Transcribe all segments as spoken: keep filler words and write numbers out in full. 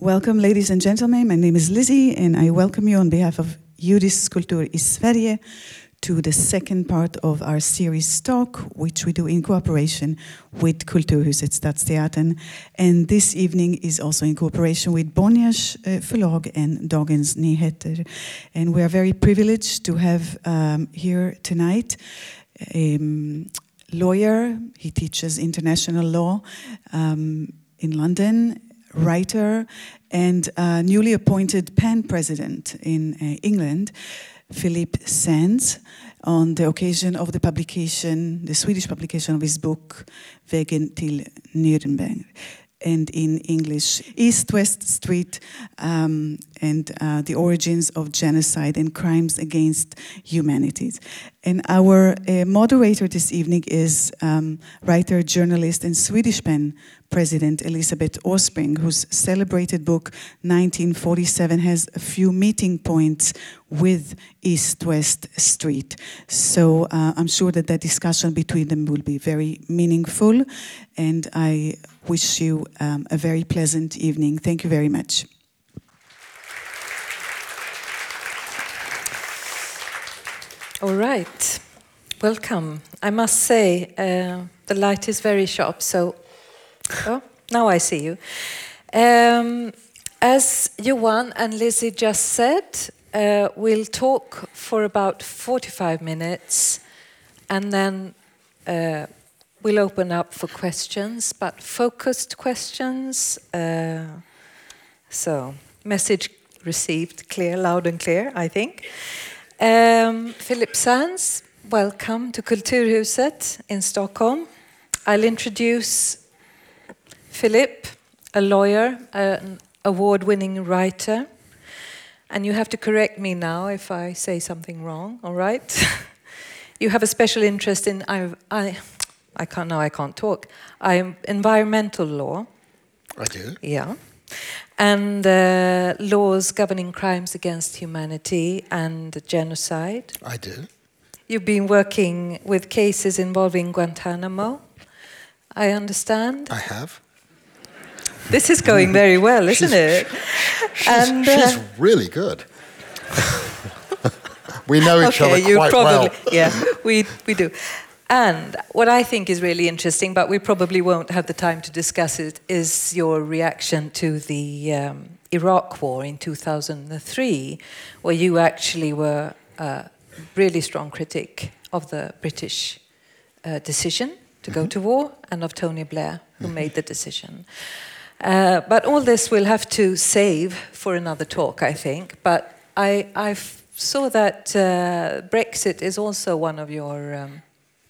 Welcome, ladies and gentlemen. My name is Lizzie, and I welcome you on behalf of Judisk Kultur i Sverige to the second part of our series talk, which we do in cooperation with Kulturhuset Stadsteatern. And this evening is also in cooperation with Bonniers uh, Förlag and Dagens Nyheter. And we are very privileged to have um, here tonight a um, lawyer. He teaches international law um, in London, writer, and uh, newly appointed PEN president in uh, England, Philip Sands, on the occasion of the publication, the Swedish publication of his book, Vägen till Nürnberg, and in English, East-West Street um, and uh, the Origins of Genocide and Crimes Against Humanity. And our uh, moderator this evening is um, writer, journalist, and Swedish PEN president Elisabeth Åsbrink, whose celebrated book nineteen forty-seven has a few meeting points with East-West Street. So uh, I'm sure that that discussion between them will be very meaningful, and I wish you um, a very pleasant evening. Thank you very much. All right, welcome. I must say, uh, the light is very sharp, so oh, now I see you. Um, as Johan and Lizzie just said, uh, we'll talk for about forty-five minutes, and then uh, we'll open up for questions, but focused questions. Uh, so, message received, clear, loud and clear, I think. Um, Philip Sands, welcome to Kulturhuset in Stockholm. I'll introduce Philip, a lawyer, an award-winning writer, and you have to correct me now if I say something wrong, all right? You have a special interest in, I, I, I can't, now I can't talk, I'm environmental law. I do. Yeah. And uh, laws governing crimes against humanity and genocide. I do. You've been working with cases involving Guantanamo, I understand. I have. This is going very well, isn't she's, it? She's, and, uh, she's really good. We know each okay, other you quite probably, well. Yeah, we, we do. And what I think is really interesting, but we probably won't have the time to discuss it, is your reaction to the um, Iraq War in two thousand three, where you actually were a really strong critic of the British uh, decision to go mm-hmm. to war, and of Tony Blair, who mm-hmm. made the decision. Uh, but all this we'll have to save for another talk, I think. But I, I saw that uh, Brexit is also one of your... Um,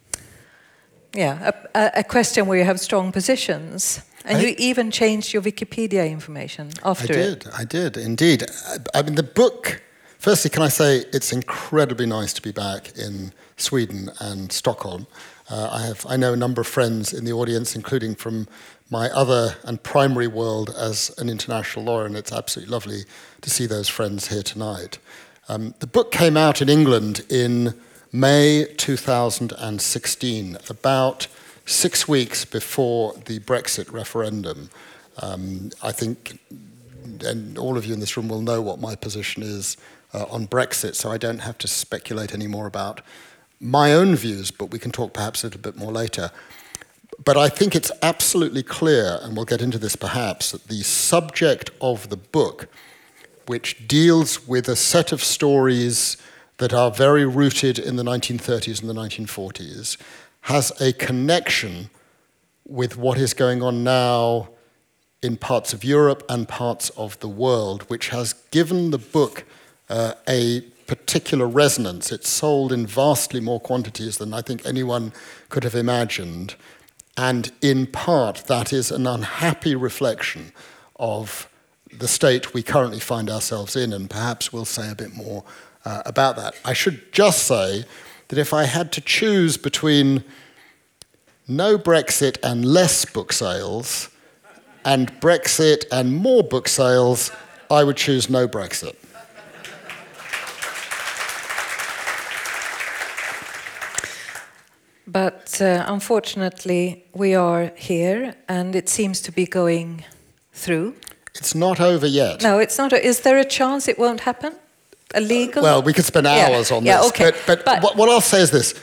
Yeah, a, a question where you have strong positions. And I, you even changed your Wikipedia information after it. I it. did, I did, indeed. I, I mean, the book, firstly, can I say it's incredibly nice to be back in Sweden and Stockholm. Uh, I have, I know a number of friends in the audience, including from my other and primary world as an international lawyer, and it's absolutely lovely to see those friends here tonight. Um, the book came out in England in May two thousand sixteen, about six weeks before the Brexit referendum. Um, I think, and all of you in this room will know what my position is uh, on Brexit, so I don't have to speculate any more about my own views, but we can talk perhaps a little bit more later. But I think it's absolutely clear, and we'll get into this perhaps, that the subject of the book, which deals with a set of stories that are very rooted in the nineteen thirties and the nineteen forties, has a connection with what is going on now in parts of Europe and parts of the world, which has given the book uh, a particular resonance. It's sold in vastly more quantities than I think anyone could have imagined. And in part, that is an unhappy reflection of the state we currently find ourselves in, and perhaps we'll say a bit more Uh, about that. I should just say that if I had to choose between no Brexit and less book sales, and Brexit and more book sales, I would choose no Brexit. But uh, unfortunately, we are here, and it seems to be going through. It's not over yet. No, it's not. A, is there a chance it won't happen? A legal? Well, we could spend hours yeah. on yeah, this. okay. But, but, but what, what I'll say is this.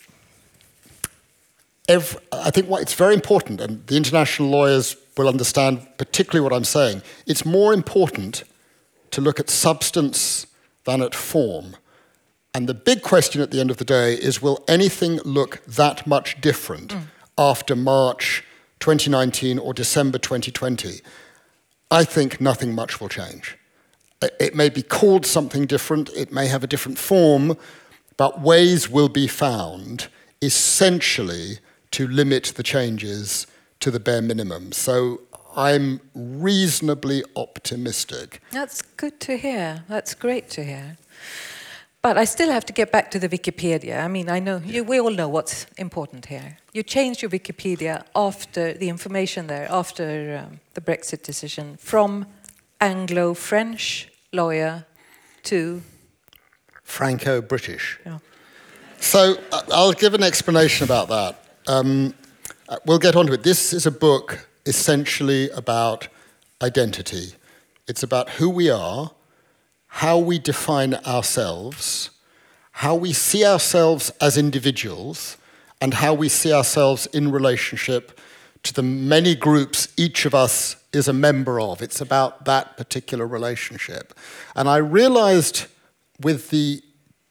Every, I think what, it's very important, and the international lawyers will understand particularly what I'm saying. It's more important to look at substance than at form. And the big question at the end of the day is, will anything look that much different mm. after March twenty nineteen or December twenty twenty? I think nothing much will change. It may be called something different, it may have a different form, but ways will be found essentially to limit the changes to the bare minimum. So I'm reasonably optimistic. That's good to hear. That's great to hear. But I still have to get back to the Wikipedia. I mean, I know, you, we all know what's important here. You changed your Wikipedia after the information there, after um, the Brexit decision, from Anglo-French lawyer to... Franco-British. Yeah. So uh, I'll give an explanation about that. Um, we'll get onto it. This is a book essentially about identity. It's about who we are, how we define ourselves, how we see ourselves as individuals, and how we see ourselves in relationship to the many groups each of us is a member of. It's about that particular relationship. And I realized with the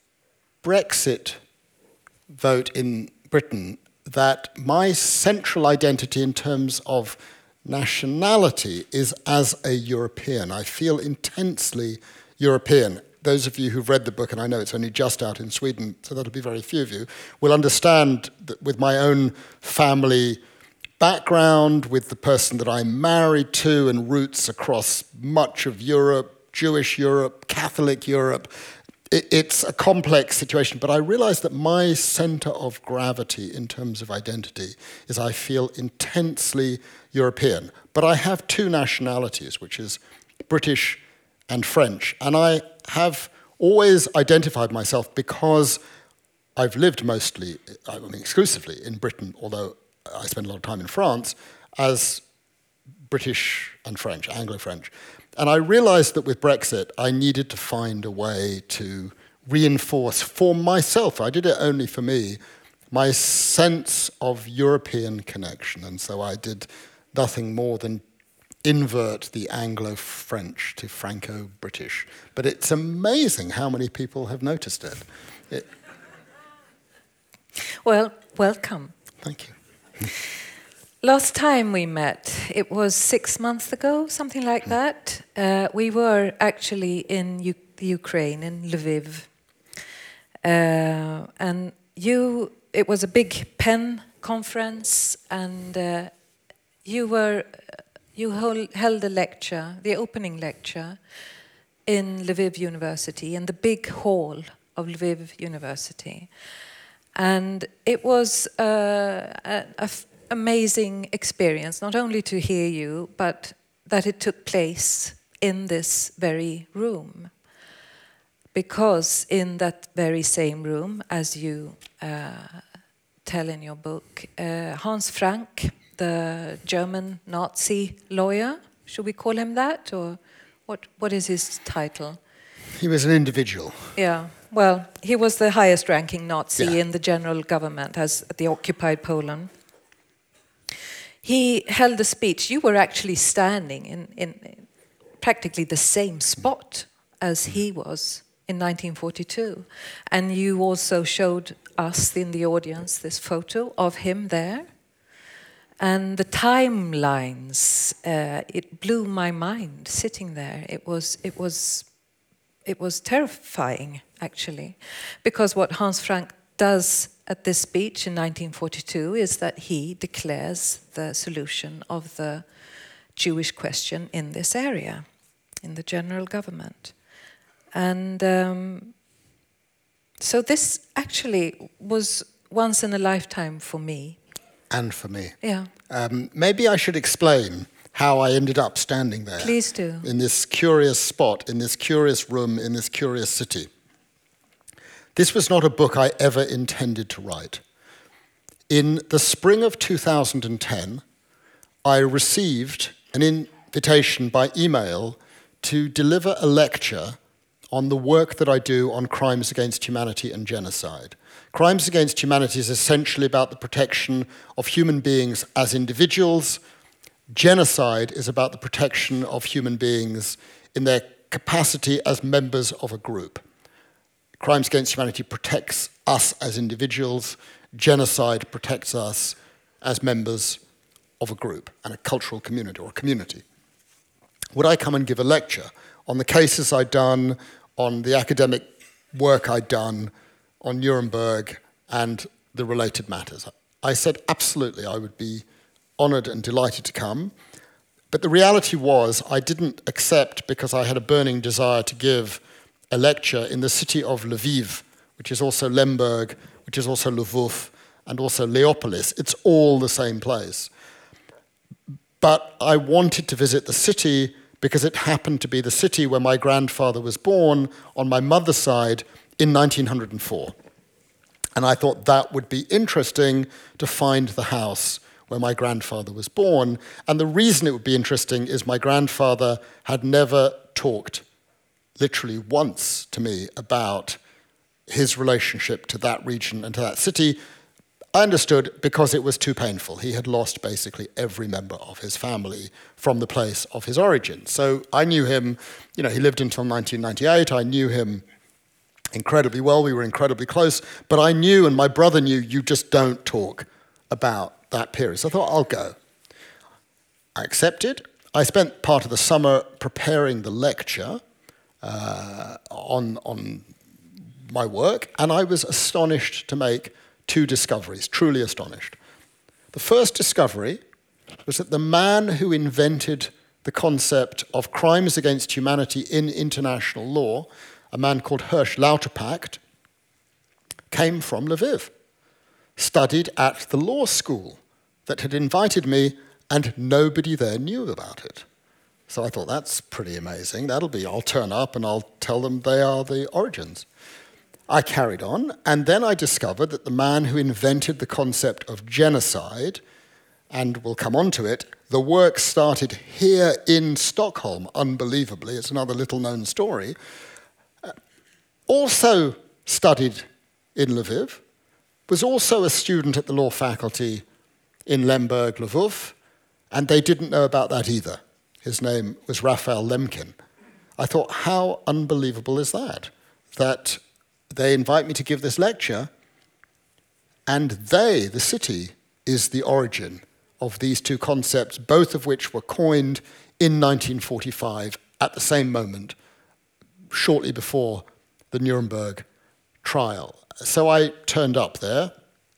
Brexit vote in Britain that my central identity in terms of nationality is as a European. I feel intensely European. Those of you who've read the book, and I know it's only just out in Sweden, so that'll be very few of you, will understand that with my own family background, with the person that I'm married to and roots across much of Europe, Jewish Europe, Catholic Europe, it, it's a complex situation. But I realize that my center of gravity in terms of identity is I feel intensely European. But I have two nationalities, which is British and French. And I have always identified myself because I've lived mostly, I mean exclusively, in Britain, although I spent a lot of time in France, as British and French, Anglo-French. And I realized that with Brexit, I needed to find a way to reinforce for myself, I did it only for me, my sense of European connection. And so I did nothing more than invert the Anglo-French to Franco-British. But it's amazing how many people have noticed it. it well, welcome. Thank you. Last time we met, it was six months ago, something like mm. that. Uh, we were actually in U the Ukraine, in Lviv. Uh, and you, it was a big PEN conference, and uh, you were... You hold, held a lecture, the opening lecture, in Lviv University, in the big hall of Lviv University. And it was uh, an amazing experience, not only to hear you, but that it took place in this very room. Because in that very same room, as you uh, tell in your book, uh, Hans Frank, the German Nazi lawyer, should we call him that, or what? What is his title? He was an individual. Yeah, well, he was the highest-ranking Nazi yeah. in the general government, as the occupied Poland. He held a speech. You were actually standing in, in practically the same spot as he was in nineteen forty-two, and you also showed us in the audience this photo of him there. And the timelines, uh, it blew my mind sitting there. It was, it was, it was terrifying, actually, because what Hans Frank does at this speech in nineteen forty-two is that he declares the solution of the Jewish question in this area, in the general government. And um, so this actually was once in a lifetime for me. And for me. Yeah. Um, maybe I should explain how I ended up standing there. Please do. In this curious spot, in this curious room, in this curious city. This was not a book I ever intended to write. In the spring of two thousand ten, I received an invitation by email to deliver a lecture on the work that I do on crimes against humanity and genocide. Crimes against humanity is essentially about the protection of human beings as individuals. Genocide is about the protection of human beings in their capacity as members of a group. Crimes against humanity protects us as individuals. Genocide protects us as members of a group and a cultural community or a community. Would I come and give a lecture on the cases I'd done, on the academic work I'd done, on Nuremberg and the related matters? I said absolutely, I would be honoured and delighted to come. But the reality was I didn't accept because I had a burning desire to give a lecture in the city of Lviv, which is also Lemberg, which is also Lvov, and also Leopolis. It's all the same place. But I wanted to visit the city because it happened to be the city where my grandfather was born on my mother's side in nineteen oh four. And I thought that would be interesting to find the house where my grandfather was born. And the reason it would be interesting is my grandfather had never talked literally once to me about his relationship to that region and to that city. I understood because it was too painful. He had lost basically every member of his family from the place of his origin. So I knew him, you know, he lived until nineteen ninety-eight. I knew him incredibly well. We were incredibly close. But I knew, and my brother knew, you just don't talk about that period. So I thought, I'll go. I accepted. I spent part of the summer preparing the lecture uh, on, on my work, and I was astonished to make two discoveries, truly astonished. The first discovery was that the man who invented the concept of crimes against humanity in international law, a man called Hirsch Lauterpacht, came from Lviv, studied at the law school that had invited me, and nobody there knew about it. So I thought, that's pretty amazing. That'll be, I'll turn up and I'll tell them they are the origins. I carried on, and then I discovered that the man who invented the concept of genocide, and we'll come on to it, the work started here in Stockholm, unbelievably, it's another little-known story, uh, also studied in Lviv, was also a student at the law faculty in Lemberg, Lvov, and they didn't know about that either. His name was Raphael Lemkin. I thought, how unbelievable is that? That they invite me to give this lecture, and they, the city, is the origin of these two concepts, both of which were coined in nineteen forty-five at the same moment, shortly before the Nuremberg trial. So I turned up there.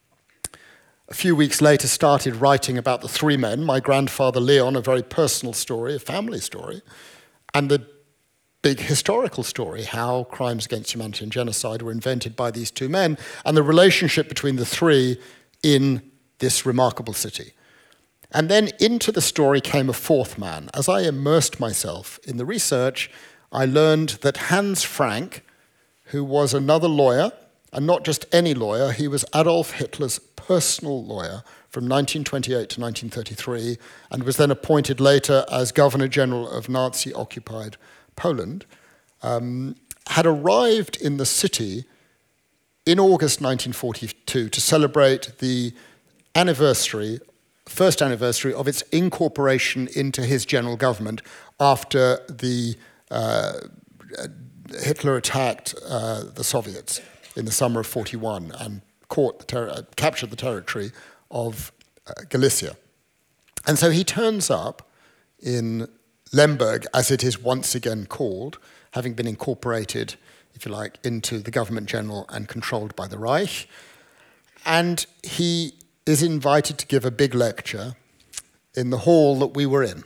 A few weeks later, started writing about the three men, my grandfather Leon, a very personal story, a family story, and the big historical story, how crimes against humanity and genocide were invented by these two men, and the relationship between the three in this remarkable city. And then into the story came a fourth man. As I immersed myself in the research, I learned that Hans Frank, who was another lawyer, and not just any lawyer, he was Adolf Hitler's personal lawyer from nineteen twenty-eight to nineteen thirty-three, and was then appointed later as Governor General of Nazi-occupied Poland, um, had arrived in the city in August nineteen forty-two to celebrate the anniversary, first anniversary of its incorporation into his general government after the uh, Hitler attacked uh, the Soviets in the summer of forty-one and caught the ter- uh, captured the territory of uh, Galicia. And so he turns up in Lemberg, as it is once again called, having been incorporated, if you like, into the government general and controlled by the Reich. And he is invited to give a big lecture in the hall that we were in.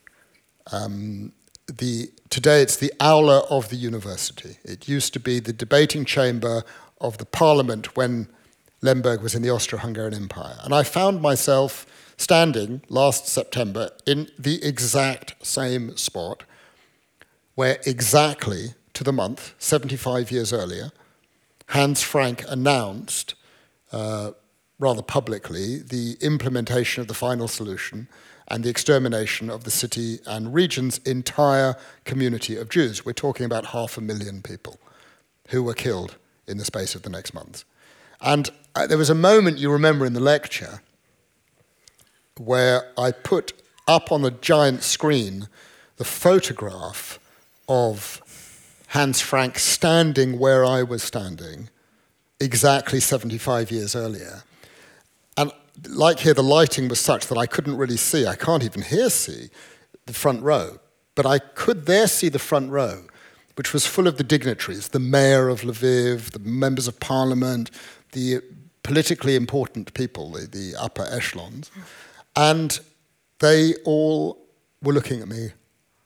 Um, the, today it's the aula of the university. It used to be the debating chamber of the parliament when Lemberg was in the Austro-Hungarian Empire. And I found myself standing last September in the exact same spot where exactly to the month, seventy-five years earlier, Hans Frank announced, uh, rather publicly, the implementation of the final solution and the extermination of the city and region's entire community of Jews. We're talking about half a million people who were killed in the space of the next months. And uh, there was a moment, you remember, in the lecture where I put up on the giant screen the photograph of Hans Frank standing where I was standing exactly seventy-five years earlier. And like here, the lighting was such that I couldn't really see, I can't even here see, the front row. But I could there see the front row, which was full of the dignitaries, the mayor of Lviv, the members of parliament, the politically important people, the, the upper echelons. And they all were looking at me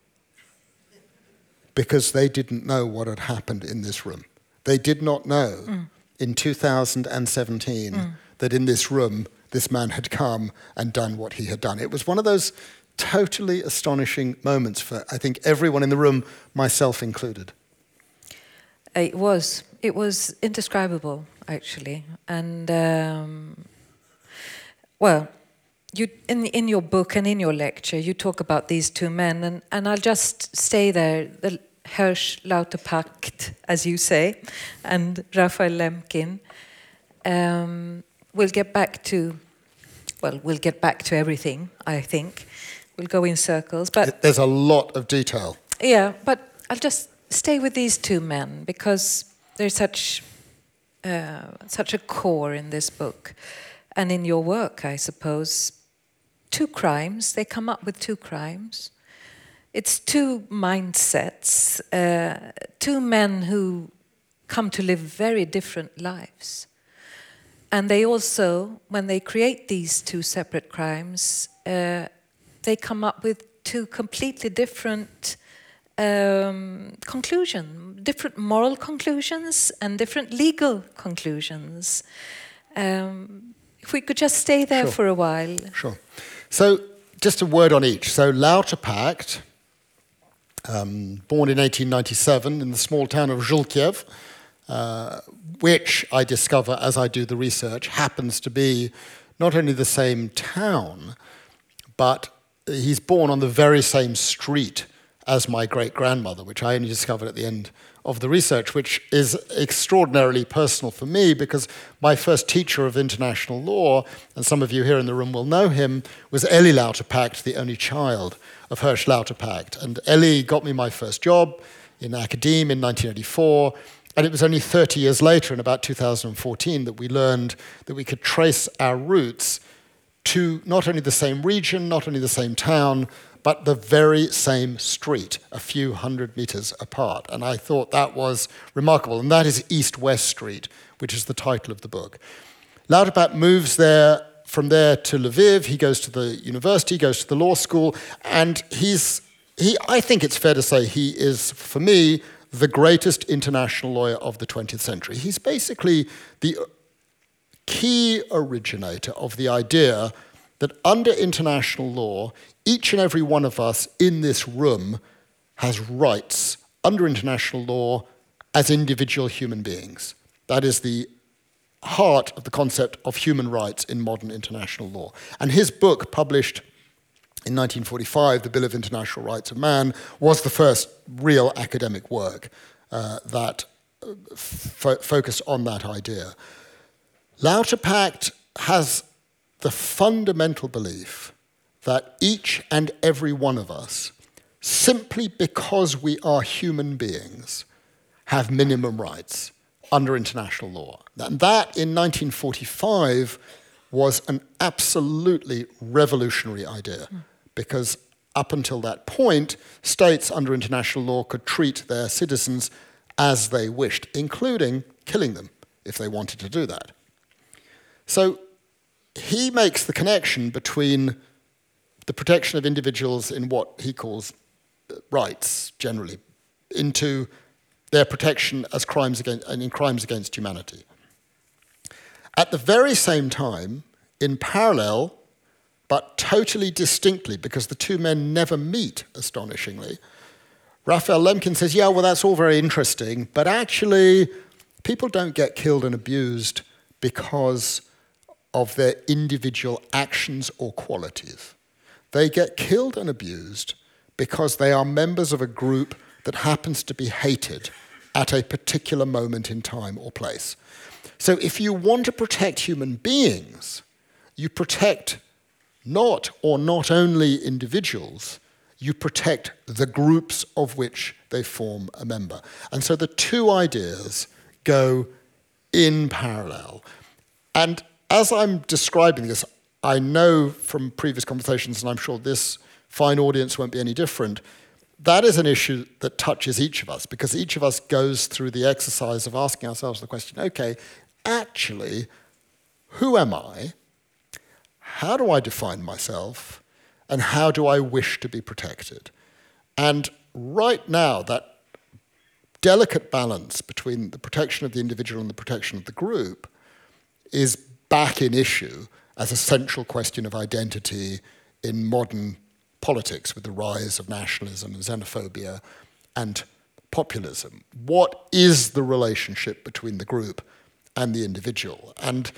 because they didn't know what had happened in this room. They did not know mm. in two thousand seventeen mm. that in this room, this man had come and done what he had done. It was one of those totally astonishing moments for, I think, everyone in the room, myself included. It was. It was indescribable, actually. And, um, well, you in in your book and in your lecture, you talk about these two men, and, and I'll just stay there. The Hersch Lauterpacht, as you say, and Raphael Lemkin. Um, we'll get back to, well, we'll get back to everything, I think. We'll go in circles, but there's a lot of detail. Yeah, but I'll just stay with these two men because there's such uh, such a core in this book, and in your work, I suppose. Two crimes. They come up with two crimes. It's two mindsets. Uh, two men who come to live very different lives. And they also, when they create these two separate crimes, uh, they come up with two completely different um, conclusions, different moral conclusions and different legal conclusions. Um, if we could just stay there Sure. for a while. Sure. So just a word on each. So Lauterpacht, um, born in eighteen ninety-seven in the small town of Zhulkiev, uh, which I discover as I do the research happens to be not only the same town, but he's born on the very same street as my great-grandmother, which I only discovered at the end of the research, which is extraordinarily personal for me because my first teacher of international law, and some of you here in the room will know him, was Eli Lauterpacht, the only child of Hersch Lauterpacht. And Eli got me my first job in academia in nineteen eighty-four, and it was only thirty years later, in about two thousand fourteen, that we learned that we could trace our roots to not only the same region, not only the same town, but the very same street, a few hundred meters apart. And I thought that was remarkable. And that is East-West Street, which is the title of the book. Lauterpacht moves there, from there to Lviv. He goes to the university, goes to the law school, and he's, he, I think it's fair to say he is, for me, the greatest international lawyer of the twentieth century. He's basically the key originator of the idea that under international law, each and every one of us in this room has rights under international law as individual human beings. That is the heart of the concept of human rights in modern international law. And his book, published in nineteen forty-five, The Bill of International Rights of Man, was the first real academic work uh, that fo- focused on that idea. Lauterpacht has the fundamental belief that each and every one of us, simply because we are human beings, have minimum rights under international law. And that, in nineteen forty-five, was an absolutely revolutionary idea, mm. because up until that point, states under international law could treat their citizens as they wished, including killing them if they wanted to do that. So he makes the connection between the protection of individuals in what he calls rights, generally, into their protection as crimes against, and in crimes against humanity. At the very same time, in parallel, but totally distinctly, because the two men never meet, astonishingly, Raphael Lemkin says, yeah, well, that's all very interesting, but actually, people don't get killed and abused because of their individual actions or qualities. They get killed and abused because they are members of a group that happens to be hated at a particular moment in time or place. So if you want to protect human beings, you protect not or not only individuals, you protect the groups of which they form a member. And so the two ideas go in parallel. And as I'm describing this, I know from previous conversations, and I'm sure this fine audience won't be any different, that is an issue that touches each of us, because each of us goes through the exercise of asking ourselves the question, okay, actually, who am I? How do I define myself? And how do I wish to be protected? And right now, that delicate balance between the protection of the individual and the protection of the group is back in issue as a central question of identity in modern politics with the rise of nationalism and xenophobia and populism. What is the relationship between the group and the individual? And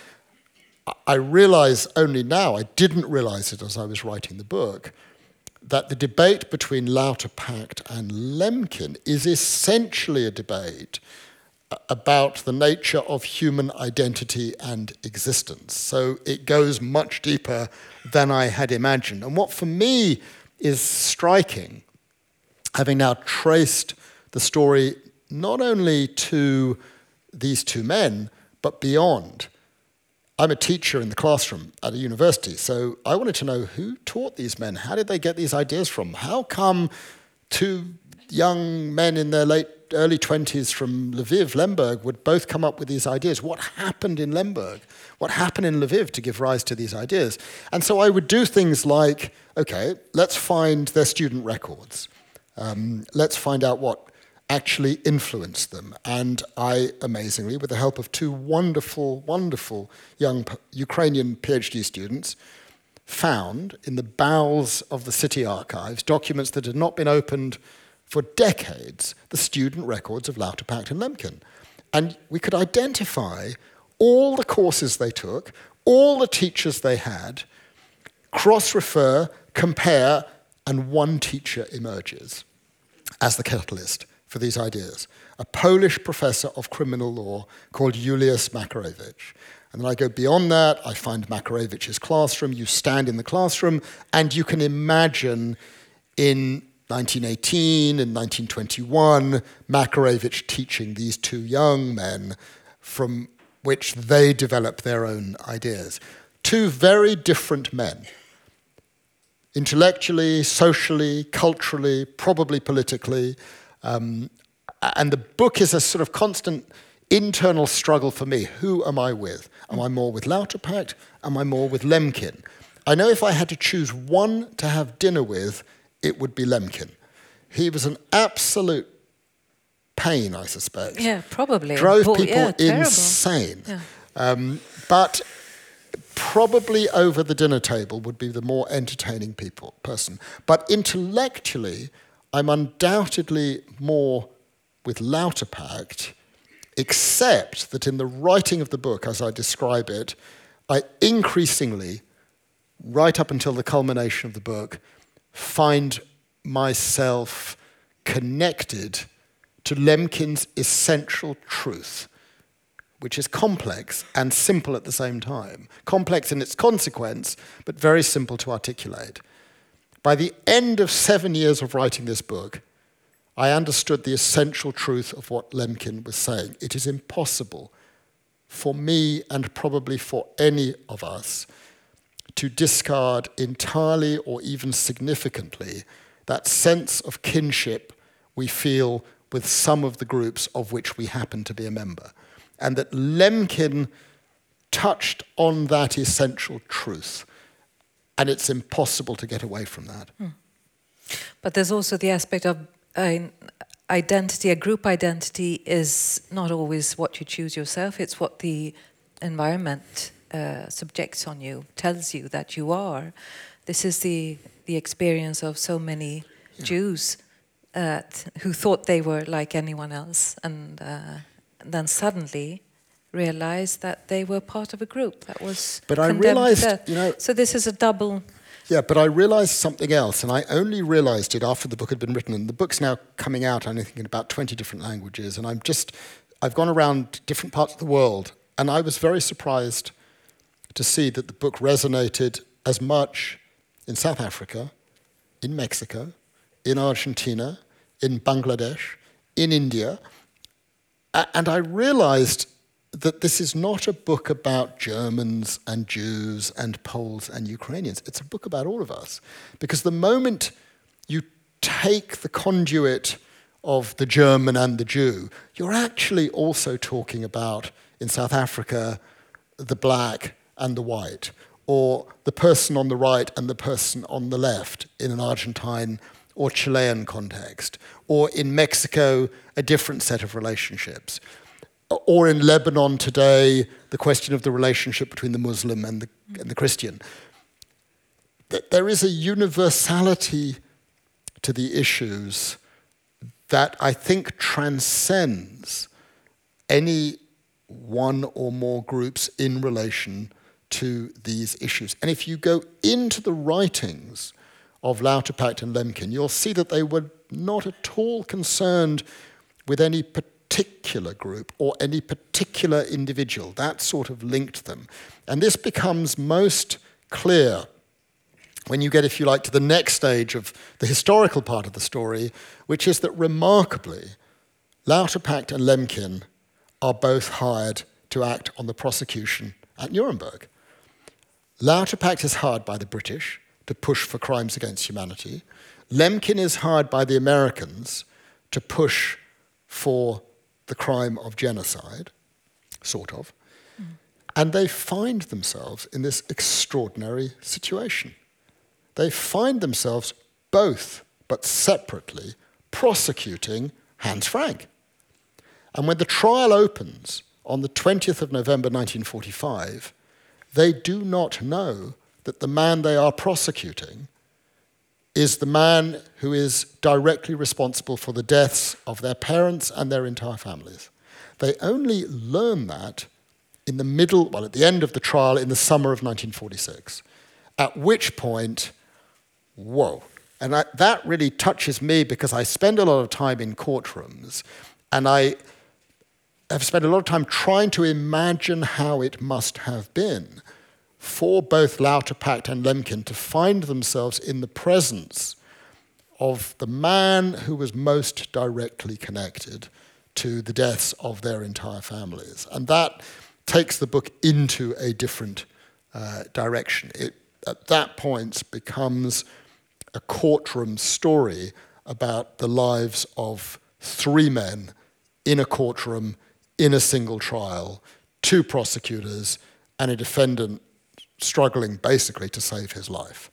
I realize only now, I didn't realize it as I was writing the book, that the debate between Lauterpacht and Lemkin is essentially a debate about the nature of human identity and existence. So it goes much deeper than I had imagined. And what for me is striking, having now traced the story not only to these two men, but beyond. I'm a teacher in the classroom at a university, so I wanted to know who taught these men. How did they get these ideas from? How come two young men in their late, early twenties from Lviv, Lemberg, would both come up with these ideas? What happened in Lemberg? What happened in Lviv to give rise to these ideas? And so I would do things like, okay, let's find their student records. Um, let's find out what actually influenced them. And I, amazingly, with the help of two wonderful, wonderful young Ukrainian PhD students, found in the bowels of the city archives documents that had not been opened for decades, the student records of Lauterpacht and Lemkin. And we could identify all the courses they took, all the teachers they had, cross-refer, compare, and one teacher emerges as the catalyst for these ideas, a Polish professor of criminal law called Juliusz Makarewicz. And then I go beyond that, I find Makarewicz's classroom, you stand in the classroom, and you can imagine in nineteen eighteen and nineteen twenty-one, Makarewicz teaching these two young men from which they develop their own ideas. Two very different men, intellectually, socially, culturally, probably politically. Um, and the book is a sort of constant internal struggle for me. Who am I with? Am I more with Lauterpacht? Am I more with Lemkin? I know if I had to choose one to have dinner with, it would be Lemkin. He was an absolute pain, I suspect. Yeah, probably. Drove Well, people yeah, insane. Yeah. Um, but probably over the dinner table would be the more entertaining people person. But intellectually, I'm undoubtedly more with Lauterpacht, except that in the writing of the book, as I describe it, I increasingly, right up until the culmination of the book, find myself connected to Lemkin's essential truth, which is complex and simple at the same time. Complex in its consequence, but very simple to articulate. By the end of seven years of writing this book, I understood the essential truth of what Lemkin was saying. It is impossible for me, and probably for any of us, to discard entirely or even significantly that sense of kinship we feel with some of the groups of which we happen to be a member. And that Lemkin touched on that essential truth. And it's impossible to get away from that. Hmm. But there's also the aspect of uh, identity. A group identity is not always what you choose yourself. It's what the environment uh, subjects on you, tells you that you are. This is the, the experience of so many yeah. Jews uh, who thought they were like anyone else. And, uh, and then suddenly realized that they were part of a group that was but I condemned realized, to death. You know, so this is a double Yeah, but I realised something else, and I only realised it after the book had been written. And the book's now coming out, I think, in about twenty different languages. And I'm just, I've gone around different parts of the world, and I was very surprised to see that the book resonated as much in South Africa, in Mexico, in Argentina, in Bangladesh, in India. And I realised that this is not a book about Germans and Jews and Poles and Ukrainians. It's a book about all of us. Because the moment you take the conduit of the German and the Jew, you're actually also talking about, in South Africa, the black and the white, or the person on the right and the person on the left in an Argentine or Chilean context, or in Mexico, a different set of relationships. Or in Lebanon today, the question of the relationship between the Muslim and the, and the Christian. There is a universality to the issues that I think transcends any one or more groups in relation to these issues. And if you go into the writings of Lauterpacht and Lemkin, you'll see that they were not at all concerned with any particular particular group or any particular individual. That sort of linked them. And this becomes most clear when you get, if you like, to the next stage of the historical part of the story, which is that remarkably, Lauterpacht and Lemkin are both hired to act on the prosecution at Nuremberg. Lauterpacht is hired by the British to push for crimes against humanity. Lemkin is hired by the Americans to push for the crime of genocide, sort of, mm. and they find themselves in this extraordinary situation. They find themselves both, but separately, prosecuting Hans Frank. And when the trial opens on the twentieth of November nineteen forty-five, they do not know that the man they are prosecuting is the man who is directly responsible for the deaths of their parents and their entire families. They only learn that in the middle, well, at the end of the trial in the summer of nineteen forty-six, at which point, whoa. And I, that really touches me because I spend a lot of time in courtrooms, and I have spent a lot of time trying to imagine how it must have been for both Lauterpacht and Lemkin to find themselves in the presence of the man who was most directly connected to the deaths of their entire families. And that takes the book into a different uh, direction. It, at that point, becomes a courtroom story about the lives of three men in a courtroom, in a single trial, two prosecutors, and a defendant struggling basically to save his life.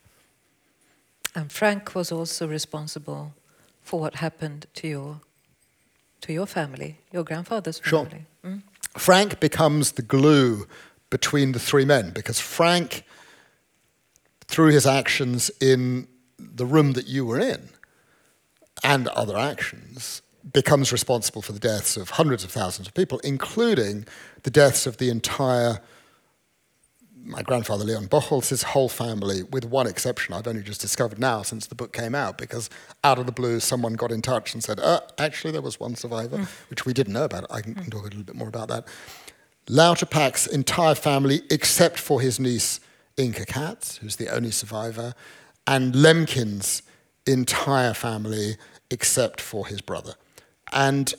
And Frank was also responsible for what happened to your to your family, your grandfather's family. Sure. Mm? Frank becomes the glue between the three men because Frank, through his actions in the room that you were in and other actions, becomes responsible for the deaths of hundreds of thousands of people, including the deaths of the entire my grandfather, Leon Bochholz, his whole family, with one exception I've only just discovered now since the book came out, because out of the blue someone got in touch and said, uh, actually there was one survivor, mm. which we didn't know about. I can, can talk a little bit more about that. Lauterpacht's entire family, except for his niece, Inke Katz, who's the only survivor, and Lemkin's entire family, except for his brother. And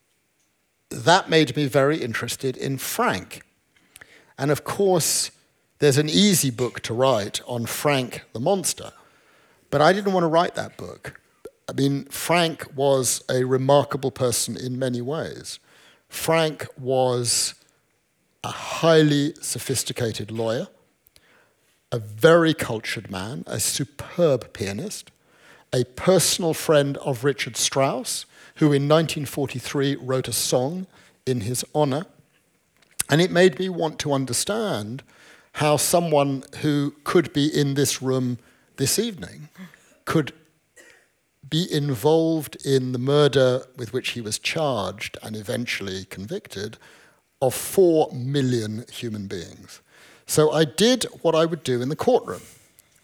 that made me very interested in Frank. And of course, there's an easy book to write on Frank the monster, but I didn't want to write that book. I mean, Frank was a remarkable person in many ways. Frank was a highly sophisticated lawyer, a very cultured man, a superb pianist, a personal friend of Richard Strauss, who in nineteen forty-three wrote a song in his honor. And it made me want to understand how someone who could be in this room this evening could be involved in the murder with which he was charged and eventually convicted of four million human beings. So I did what I would do in the courtroom.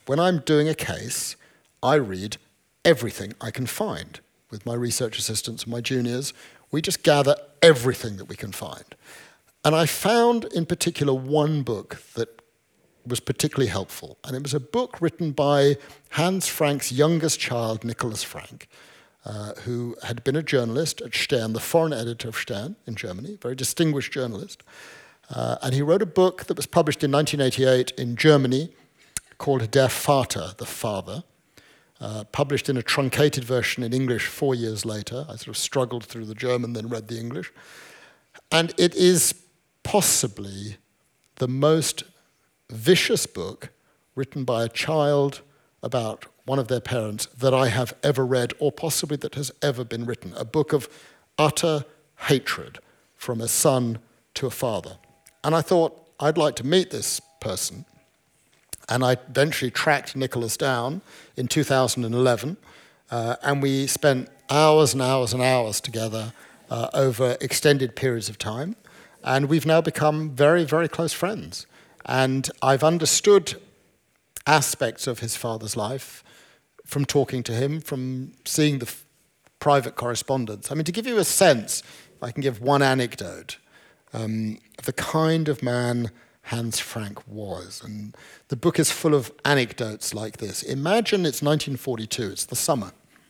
when I'm doing a case, I read everything I can find. With my research assistants and my juniors, we just gather everything that we can find. And I found in particular one book that was particularly helpful. And it was a book written by Hans Frank's youngest child, Nicholas Frank, uh, who had been a journalist at Stern, the foreign editor of Stern in Germany, very distinguished journalist. Uh, and he wrote a book that was published in nineteen eighty-eight in Germany called Der Vater, the Father, uh, published in a truncated version in English four years later. I sort of struggled through the German, then read the English. And it is possibly the most vicious book written by a child about one of their parents that I have ever read, or possibly that has ever been written. A book of utter hatred from a son to a father. And I thought, I'd like to meet this person. And I eventually tracked Nicholas down in two thousand eleven, uh, and we spent hours and hours and hours together uh, over extended periods of time. And we've now become very, very close friends. And I've understood aspects of his father's life from talking to him, from seeing the f- private correspondence. I mean, to give you a sense, if I can give one anecdote, um, of the kind of man Hans Frank was. And the book is full of anecdotes like this. Imagine it's nineteen forty-two, it's the summer.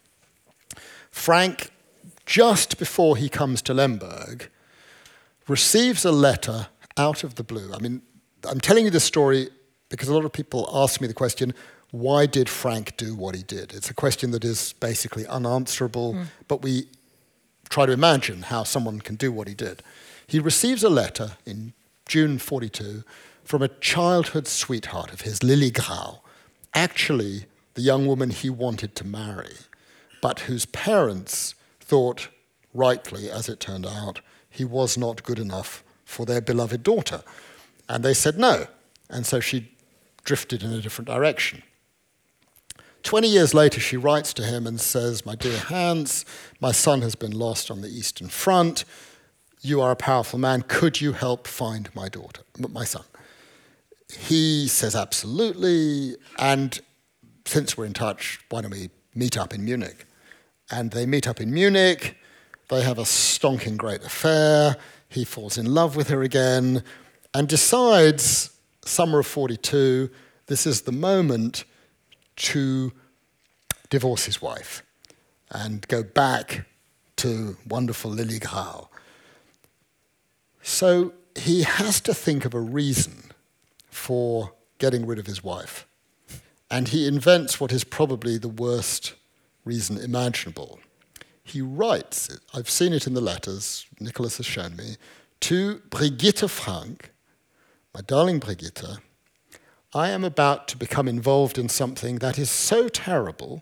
Frank, just before he comes to Lemberg, receives a letter out of the blue. I mean, I'm telling you this story because a lot of people ask me the question, why did Frank do what he did? It's a question that is basically unanswerable, mm. but we try to imagine how someone can do what he did. He receives a letter in June forty-two from a childhood sweetheart of his, Lily Grau, actually the young woman he wanted to marry, but whose parents thought, rightly as it turned out, he was not good enough for their beloved daughter. And they said no. And so she drifted in a different direction. Twenty years later, she writes to him and says, "My dear Hans, my son has been lost on the Eastern Front. You are a powerful man. Could you help find my daughter, my son?" He says, absolutely. And since we're in touch, why don't we meet up in Munich? And they meet up in Munich. They have a stonking great affair. He falls in love with her again and decides, summer of forty-two, this is the moment to divorce his wife and go back to wonderful Lily Grau. So he has to think of a reason for getting rid of his wife. And he invents what is probably the worst reason imaginable. He writes, I've seen it in the letters, Nicholas has shown me, to Brigitte Frank, my darling Brigitte, I am about to become involved in something that is so terrible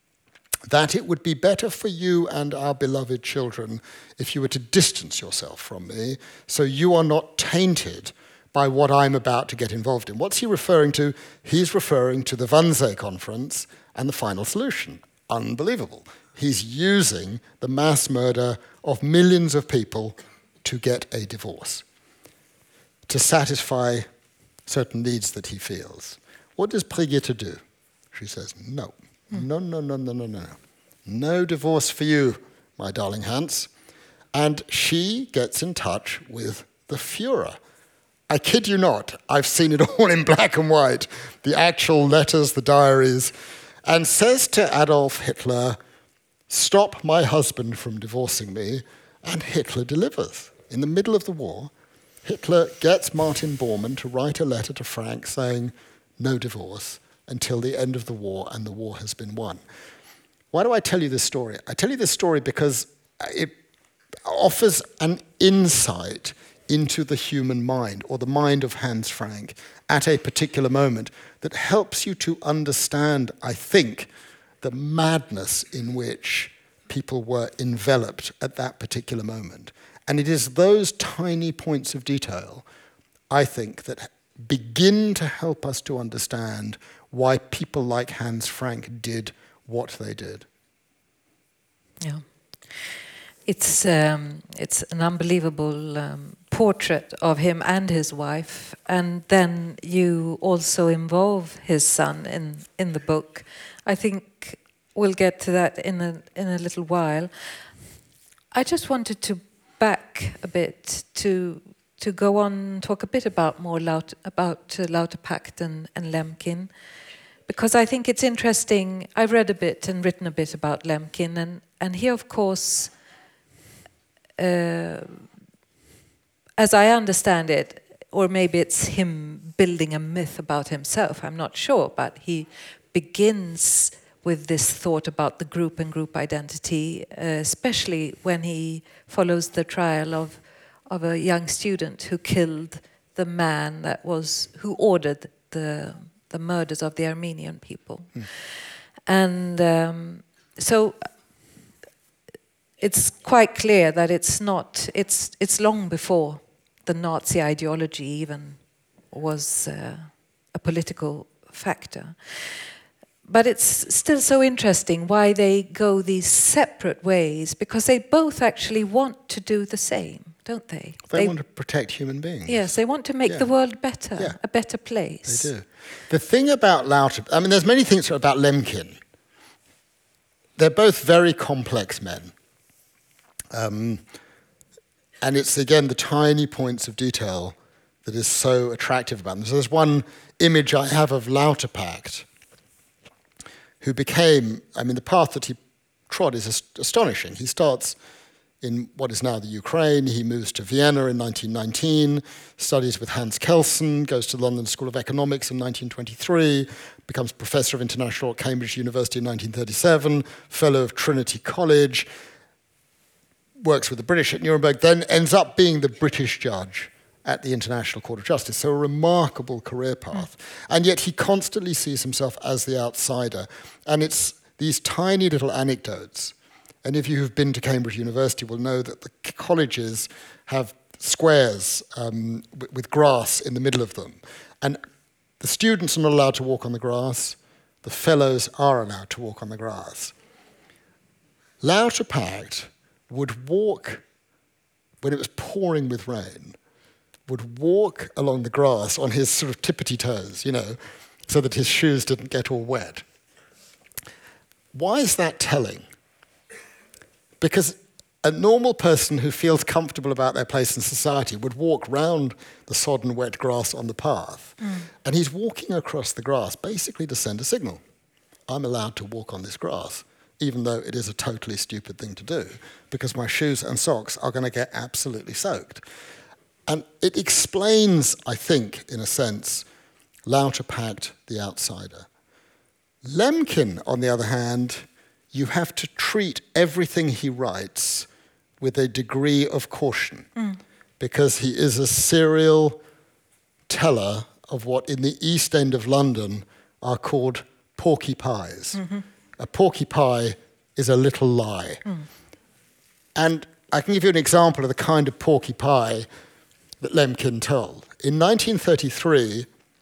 that it would be better for you and our beloved children if you were to distance yourself from me so you are not tainted by what I'm about to get involved in. What's he referring to? He's referring to the Wannsee Conference and the final solution. Unbelievable. He's using the mass murder of millions of people to get a divorce, to satisfy certain needs that he feels. What does Brigitte do? She says, no, no, no, no, no, no, no. No divorce for you, my darling Hans. And she gets in touch with the Führer. I kid you not, I've seen it all in black and white, the actual letters, the diaries, and says to Adolf Hitler, stop my husband from divorcing me, and Hitler delivers. In the middle of the war, Hitler gets Martin Bormann to write a letter to Frank saying, no divorce until the end of the war, and the war has been won. Why do I tell you this story? I tell you this story because it offers an insight into the human mind, or the mind of Hans Frank, at a particular moment that helps you to understand, I think, the madness in which people were enveloped at that particular moment. And it is those tiny points of detail, I think, that begin to help us to understand why people like Hans Frank did what they did. Yeah. It's um, it's an unbelievable um, portrait of him and his wife, and then you also involve his son in, in the book. I think we'll get to that in a, in a little while. I just wanted to back a bit to to go on talk a bit about more Laut, about uh, Lauterpacht and, and Lemkin, because I think it's interesting. I've read a bit and written a bit about Lemkin, and, and he, of course, uh, as I understand it, or maybe it's him building a myth about himself, I'm not sure, but he begins with this thought about the group and group identity, uh, especially when he follows the trial of of a young student who killed the man that was who ordered the the murders of the Armenian people, mm. and um, so it's quite clear that it's not it's it's long before the Nazi ideology even was uh, a political factor. But it's still so interesting why they go these separate ways, because they both actually want to do the same, don't they? They, they want to protect human beings. Yes, they want to make yeah. the world better, yeah. a better place. They do. The thing about Lauter, I mean, there's many things about Lemkin. They're both very complex men. Um, and it's, again, the tiny points of detail that is so attractive about them. So there's one image I have of Lauterpacht, who became, I mean, the path that he trod is ast- astonishing. He starts in what is now the Ukraine. He moves to Vienna in nineteen nineteen, studies with Hans Kelsen, goes to the London School of Economics in nineteen twenty-three, becomes Professor of International at Cambridge University in nineteen thirty-seven, Fellow of Trinity College, works with the British at Nuremberg, then ends up being the British judge at the International Court of Justice. So a remarkable career path. Mm. And yet he constantly sees himself as the outsider. And it's these tiny little anecdotes. And if you have been to Cambridge University, will know that the colleges have squares um, with, with grass in the middle of them. And the students are not allowed to walk on the grass. The fellows are allowed to walk on the grass. Lauterpacht would walk, when it was pouring with rain, would walk along the grass on his sort of tippity toes, you know, so that his shoes didn't get all wet. Why is that telling? Because a normal person who feels comfortable about their place in society would walk round the sodden wet grass on the path, mm. and he's walking across the grass basically to send a signal. I'm allowed to walk on this grass, even though it is a totally stupid thing to do, because my shoes and socks are going to get absolutely soaked. And it explains, I think, in a sense, Lauterpacht, the outsider. Lemkin, on the other hand, you have to treat everything he writes with a degree of caution, mm. because he is a serial teller of what in the East End of London are called porky pies. Mm-hmm. A porky pie is a little lie. Mm. And I can give you an example of the kind of porky pie that Lemkin told. In nineteen thirty-three,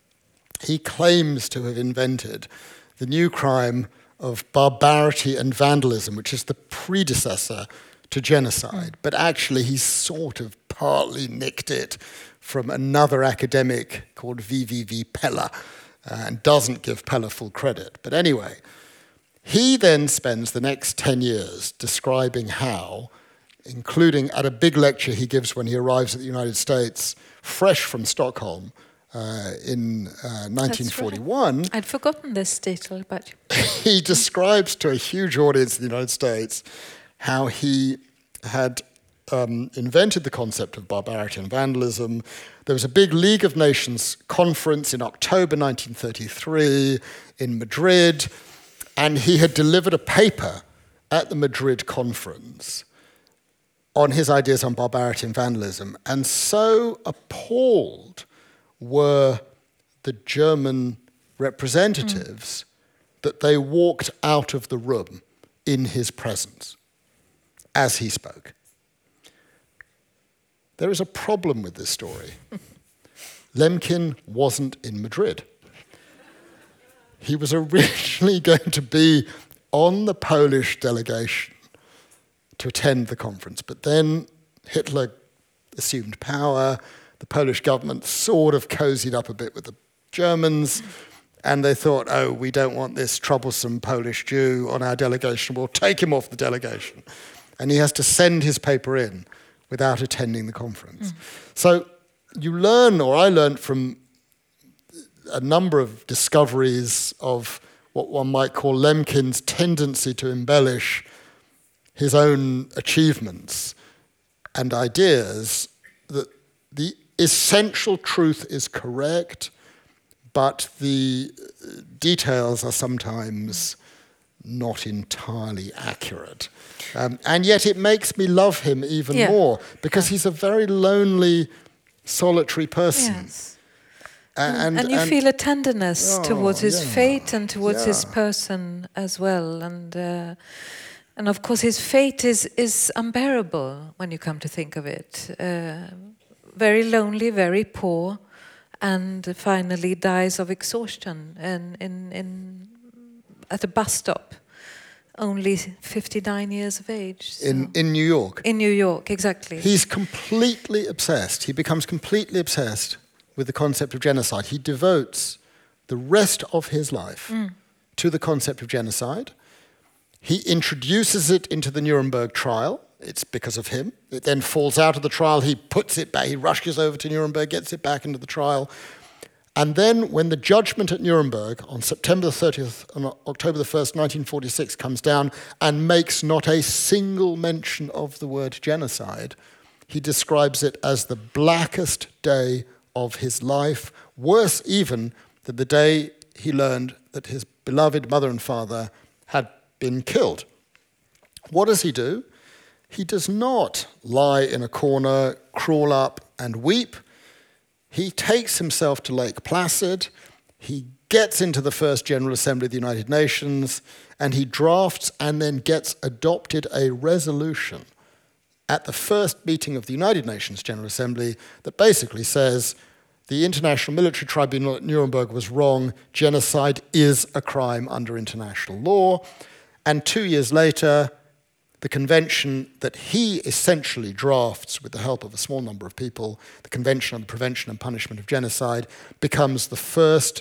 he claims to have invented the new crime of barbarity and vandalism, which is the predecessor to genocide. Mm. But actually, he sort of partly nicked it from another academic called V V V Pella, uh, and doesn't give Pella full credit. But anyway, he then spends the next ten years describing how, including at a big lecture he gives when he arrives at the United States, fresh from Stockholm uh, in uh, nineteen forty-one. Right. I'd forgotten this detail about you. He describes to a huge audience in the United States how he had um, invented the concept of barbarity and vandalism. There was a big League of Nations conference in October nineteen thirty-three in Madrid, and he had delivered a paper at the Madrid conference on his ideas on barbarity and vandalism. And so appalled were the German representatives mm. that they walked out of the room in his presence as he spoke. There is a problem with this story. Lemkin wasn't in Madrid. He was originally going to be on the Polish delegation to attend the conference, but then Hitler assumed power. The Polish government sort of cozied up a bit with the Germans, and they thought, oh, we don't want this troublesome Polish Jew on our delegation. We'll take him off the delegation. And he has to send his paper in without attending the conference. Mm. So you learn, or I learned from a number of discoveries of what one might call Lemkin's tendency to embellish his own achievements and ideas, that the essential truth is correct, but the details are sometimes not entirely accurate. Um, and yet it makes me love him even yeah. more, because he's a very lonely, solitary person. Yes. And, and you and, feel a tenderness oh, towards his yeah, fate and towards yeah. his person as well. And uh, and of course his fate is, is unbearable when you come to think of it. Uh, very lonely, very poor, and finally dies of exhaustion in, in, in, at a bus stop, only fifty-nine years of age. So. In, in New York? In New York, exactly. He's completely obsessed. He becomes completely obsessed with the concept of genocide. He devotes the rest of his life mm. to the concept of genocide. He introduces it into the Nuremberg trial. It's because of him. It then falls out of the trial. He puts it back. He rushes over to Nuremberg, gets it back into the trial. And then when the judgment at Nuremberg on September the thirtieth and October the first, nineteen forty-six comes down and makes not a single mention of the word genocide, he describes it as the blackest day of his life, worse even than the day he learned that his beloved mother and father had been killed. What does he do? He does not lie in a corner, crawl up and weep. He takes himself to Lake Placid, he gets into the first General Assembly of the United Nations, and he drafts and then gets adopted a resolution at the first meeting of the United Nations General Assembly that basically says the International Military Tribunal at Nuremberg was wrong, genocide is a crime under international law. And two years later, the convention that he essentially drafts with the help of a small number of people, the Convention on the Prevention and Punishment of Genocide, becomes the first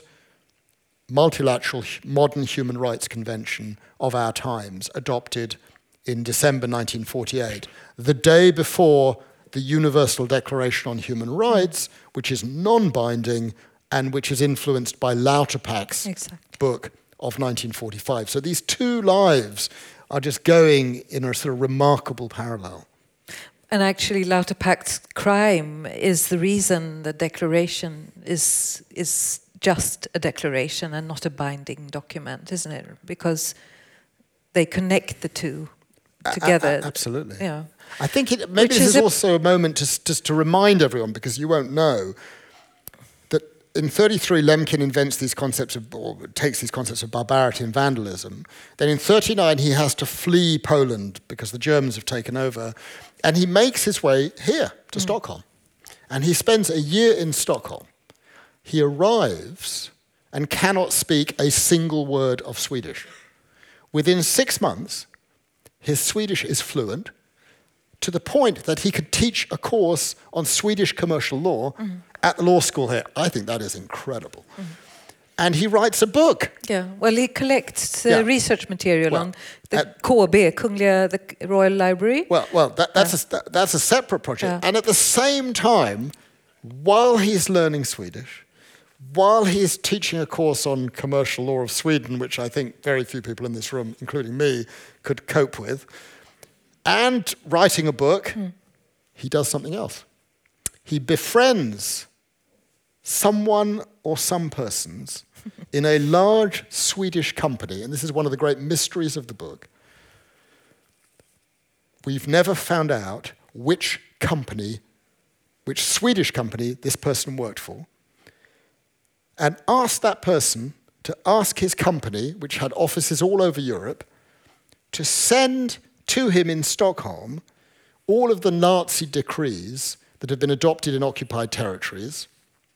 multilateral modern human rights convention of our times, adopted in December nineteen forty-eight, the day before the Universal Declaration on Human Rights, which is non-binding and which is influenced by Lauterpacht's exactly. book of nineteen forty-five. So these two lives are just going in a sort of remarkable parallel. And actually Lauterpacht's crime is the reason the declaration is is just a declaration and not a binding document, isn't it? Because they connect the two together. A- a- absolutely. Yeah. I think it, maybe Which this is, is also a moment to, just to remind everyone, because you won't know, that in thirty-three Lemkin invents these concepts of, or takes these concepts of barbarity and vandalism. Then in thirty-nine he has to flee Poland because the Germans have taken over, and he makes his way here to mm. Stockholm. And he spends a year in Stockholm. He arrives and cannot speak a single word of Swedish. Within six months, his Swedish is fluent, to the point that he could teach a course on Swedish commercial law mm. at the law school here. I think that is incredible. Mm. And he writes a book. Yeah, well, he collects uh, yeah. research material well, on the at, K B, Kungliga, the Royal Library. Well, well, that, that's, yeah. a, that, that's a separate project. Yeah. And at the same time, while he's learning Swedish, while he's teaching a course on commercial law of Sweden, which I think very few people in this room, including me, could cope with, and writing a book, mm. he does something else. He befriends someone or some persons in a large Swedish company, and this is one of the great mysteries of the book. We've never found out which company, which Swedish company this person worked for, and asked that person to ask his company, which had offices all over Europe, to send to him in Stockholm all of the Nazi decrees that have been adopted in occupied territories,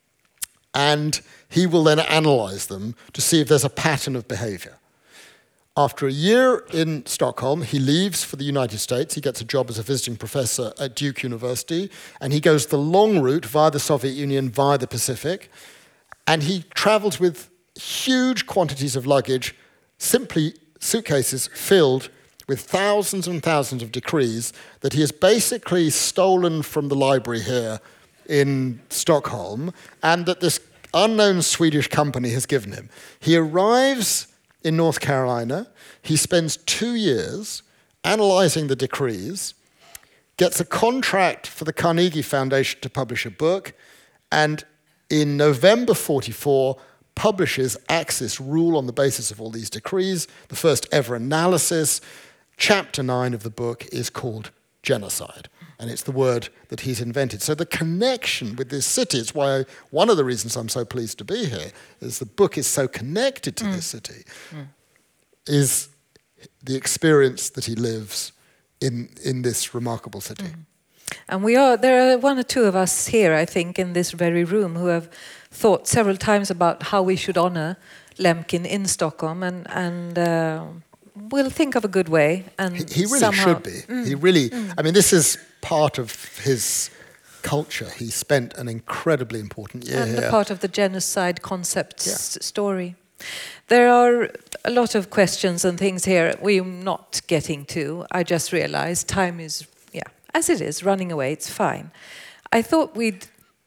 and he will then analyze them to see if there's a pattern of behavior. After a year in Stockholm, he leaves for the United States. He gets a job as a visiting professor at Duke University, and he goes the long route via the Soviet Union, via the Pacific, and he travels with huge quantities of luggage, simply suitcases filled with thousands and thousands of decrees that he has basically stolen from the library here in Stockholm, and that this unknown Swedish company has given him. He arrives in North Carolina. He spends two years analyzing the decrees, gets a contract for the Carnegie Foundation to publish a book, and in November forty-four, publishes Axis Rule on the basis of all these decrees, the first ever analysis. Chapter nine of the book is called Genocide, and it's the word that he's invented. So the connection with this city is why one of the reasons I'm so pleased to be here is the book is so connected to mm. this city, mm. is the experience that he lives in in this remarkable city. Mm. And we are there are one or two of us here, I think, in this very room who have thought several times about how we should honor Lemkin in Stockholm, and and uh, we'll think of a good way. And he, he really somehow, should be. Mm, he really. Mm. I mean, this is part of his culture. He spent an incredibly important year and here. And part of the genocide concept yeah. story. There are a lot of questions and things here we're not getting to. I just realized time is, yeah, as it is, running away. It's fine. I thought we'd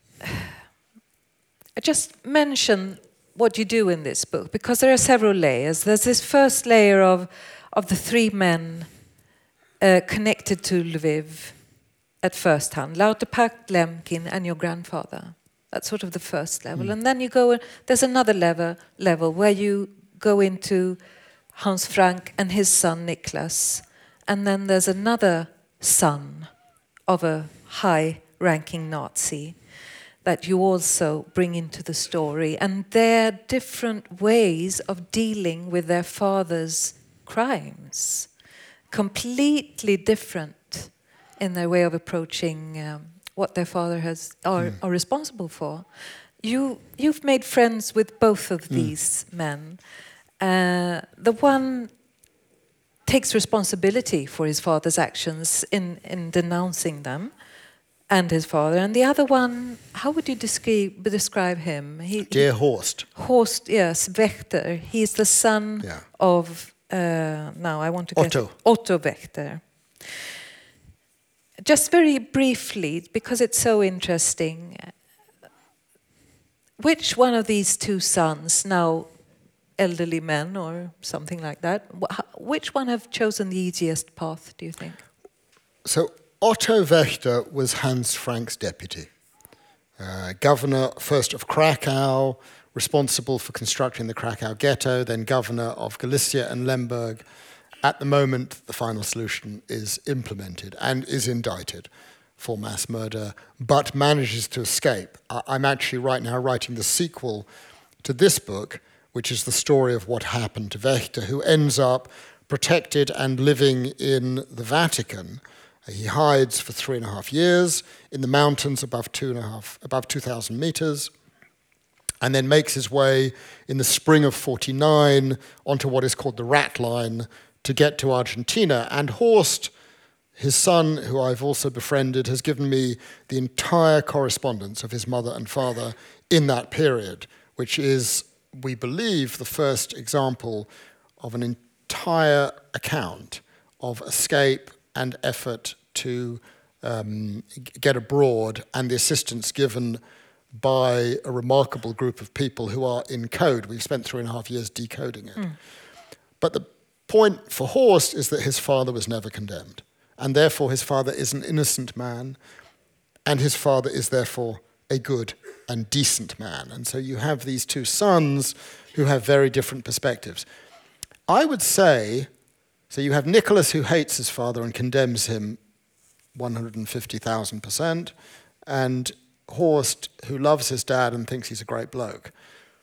just mention what you do in this book, because there are several layers. There's this first layer of of the three men uh, connected to Lviv at first hand, Lauterpacht, Lemkin, and your grandfather. That's sort of the first level. Mm. And then you go, there's another level, level where you go into Hans Frank and his son Niklas. And then there's another son of a high-ranking Nazi that you also bring into the story. And they're different ways of dealing with their father's crimes. Completely different in their way of approaching um, what their father has are, mm. are responsible for. You, you've made friends with both of mm. these men. Uh, the one takes responsibility for his father's actions in, in denouncing them, and his father. And the other one, how would you describe describe him? He, Dear Horst. Horst, yes, Wächter. He's the son yeah. of, uh, now I want to get Otto. Otto Wächter. Just very briefly, because it's so interesting, which one of these two sons, now elderly men or something like that, which one have chosen the easiest path, do you think? So Otto Wächter was Hans Frank's deputy, uh, governor first of Krakow, responsible for constructing the Krakow ghetto, then governor of Galicia and Lemberg. At the moment, the final solution is implemented and is indicted for mass murder, but manages to escape. I'm actually right now writing the sequel to this book, which is the story of what happened to Wächter, who ends up protected and living in the Vatican. He hides for three and a half years in the mountains above two and a half, above two thousand meters, and then makes his way in the spring of forty-nine onto what is called the Rat Line to get to Argentina. And Horst, his son, who I've also befriended, has given me the entire correspondence of his mother and father in that period, which is, we believe, the first example of an entire account of escape and effort to um, get abroad, and the assistance given by a remarkable group of people who are in code. We've spent three and a half years decoding it. Mm. But the point for Horst is that his father was never condemned, and therefore his father is an innocent man, and his father is therefore a good and decent man. And so you have these two sons who have very different perspectives. I would say, so you have Nicholas, who hates his father and condemns him one hundred fifty thousand percent, and Horst, who loves his dad and thinks he's a great bloke.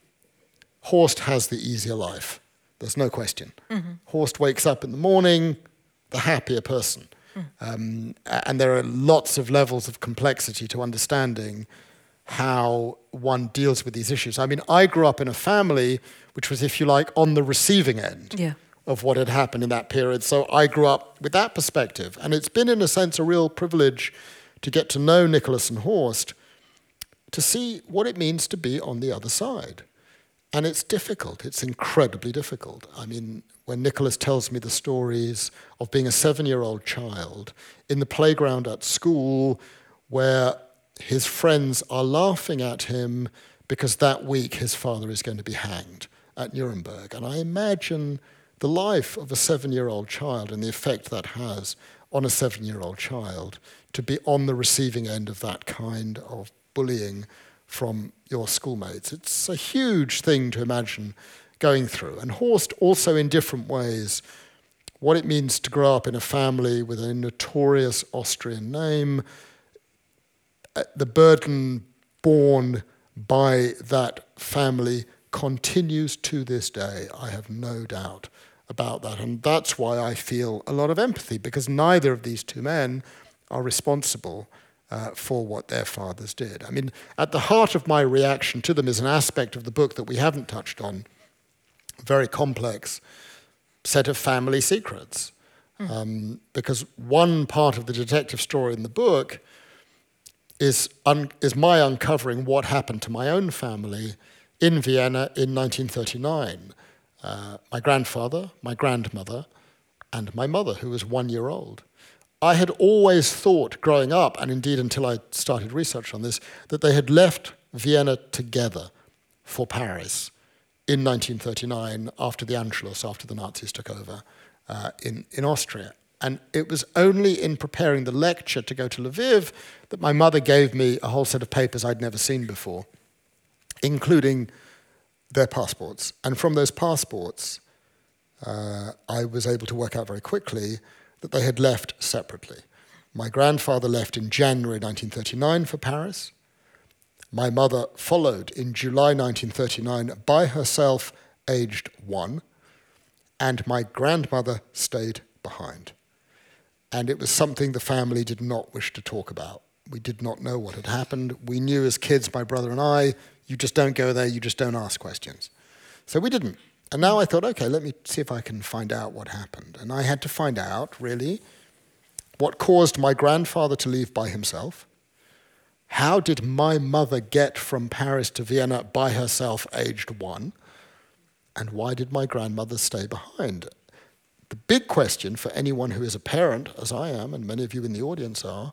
Horst has the easier life. There's no question. Mm-hmm. Horst wakes up in the morning, the happier person. Mm. Um, and there are lots of levels of complexity to understanding how one deals with these issues. I mean, I grew up in a family which was, if you like, on the receiving end. Yeah. of what had happened in that period. So I grew up with that perspective. And it's been, in a sense, a real privilege to get to know Nicholas and Horst, to see what it means to be on the other side. And it's difficult. It's incredibly difficult. I mean, when Nicholas tells me the stories of being a seven-year-old child in the playground at school where his friends are laughing at him because that week his father is going to be hanged at Nuremberg. And I imagine the life of a seven-year-old child and the effect that has on a seven-year-old child to be on the receiving end of that kind of bullying from your schoolmates. It's a huge thing to imagine going through. And Horst also, in different ways, what it means to grow up in a family with a notorious Austrian name, the burden borne by that family continues to this day. I have no doubt about that. And that's why I feel a lot of empathy, because neither of these two men are responsible uh, for what their fathers did. I mean, at the heart of my reaction to them is an aspect of the book that we haven't touched on, a very complex set of family secrets. Mm. Um, because one part of the detective story in the book is, un- is my uncovering what happened to my own family in Vienna in nineteen thirty-nine. Uh, my grandfather, my grandmother, and my mother, who was one year old. I had always thought growing up, and indeed until I started research on this, that they had left Vienna together for Paris in nineteen thirty-nine after the Anschluss, after the Nazis took over uh, in, in Austria. And it was only in preparing the lecture to go to Lviv that my mother gave me a whole set of papers I'd never seen before, including their passports. And from those passports, uh, I was able to work out very quickly that they had left separately. My grandfather left in January nineteen thirty-nine for Paris. My mother followed in July nineteen thirty-nine by herself, aged one. And my grandmother stayed behind. And it was something the family did not wish to talk about. We did not know what had happened. We knew as kids, my brother and I, you just don't go there, you just don't ask questions. So we didn't. And now I thought, okay, let me see if I can find out what happened. And I had to find out, really, what caused my grandfather to leave by himself. How did my mother get from Paris to Vienna by herself, aged one? And why did my grandmother stay behind? The big question for anyone who is a parent, as I am, and many of you in the audience are,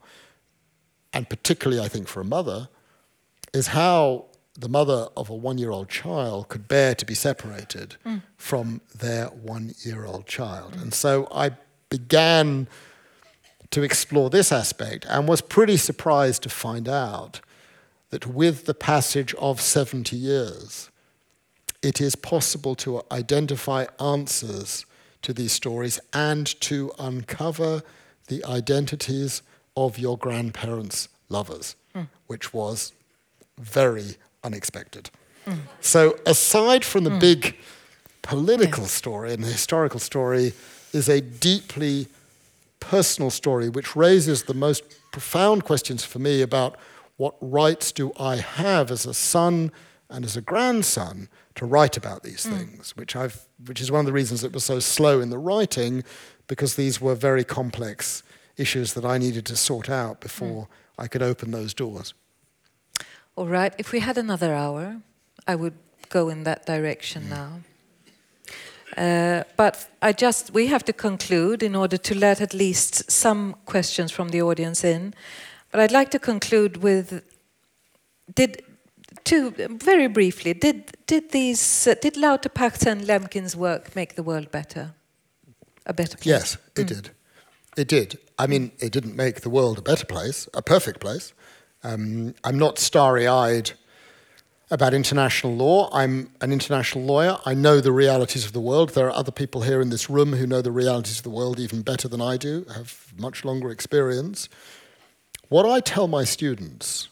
and particularly I think for a mother, is how the mother of a one-year-old child could bear to be separated mm. from their one-year-old child. Mm. And so I began to explore this aspect and was pretty surprised to find out that with the passage of seventy years, it is possible to identify answers to these stories and to uncover the identities of your grandparents' lovers, mm. which was very unexpected. Mm. So aside from the mm. big political yes. story and the historical story is a deeply personal story which raises the most profound questions for me about what rights do I have as a son and as a grandson to write about these mm. things, which I've, which is one of the reasons it was so slow in the writing, because these were very complex issues that I needed to sort out before mm. I could open those doors. All right, if we had another hour, I would go in that direction mm. now. Uh, but I just, we have to conclude in order to let at least some questions from the audience in. But I'd like to conclude with, did, two, very briefly, did, did these, uh, did Lauterpacht's and Lemkin's work make the world better? A better place? Yes, it mm. did. It did. I mean, it didn't make the world a better place, a perfect place. Um, I'm not starry-eyed about international law. I'm an international lawyer. I know the realities of the world. There are other people here in this room who know the realities of the world even better than I do, have much longer experience. What I tell my students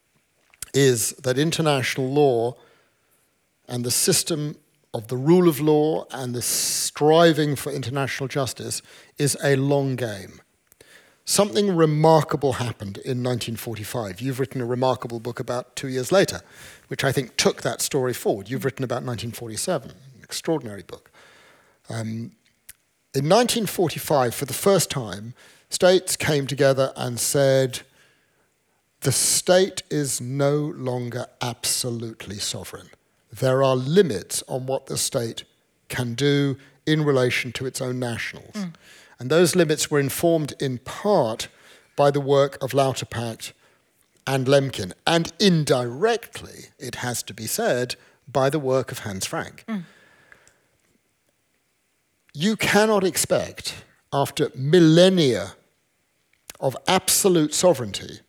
is that international law and the system of the rule of law and the striving for international justice is a long game. Something remarkable happened in nineteen forty-five. You've written a remarkable book about two years later, which I think took that story forward. You've written about nineteen forty-seven, an extraordinary book. Um, in nineteen forty-five, for the first time, states came together and said, the state is no longer absolutely sovereign. There are limits on what the state can do in relation to its own nationals. Mm. And those limits were informed in part by the work of Lauterpacht and Lemkin, and indirectly, it has to be said, by the work of Hans Frank. Mm. You cannot expect, after millennia of absolute sovereignty,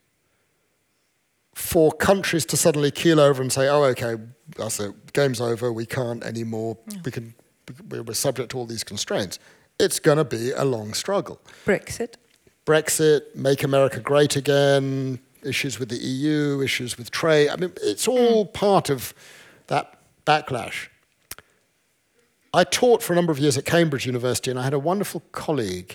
for countries to suddenly keel over and say, oh, okay, that's it, game's over, we can't anymore, yeah. we can, we're subject to all these constraints. It's going to be a long struggle. Brexit. Brexit, Make America Great Again, issues with the E U, issues with trade. I mean, it's all mm. part of that backlash. I taught for a number of years at Cambridge University, and I had a wonderful colleague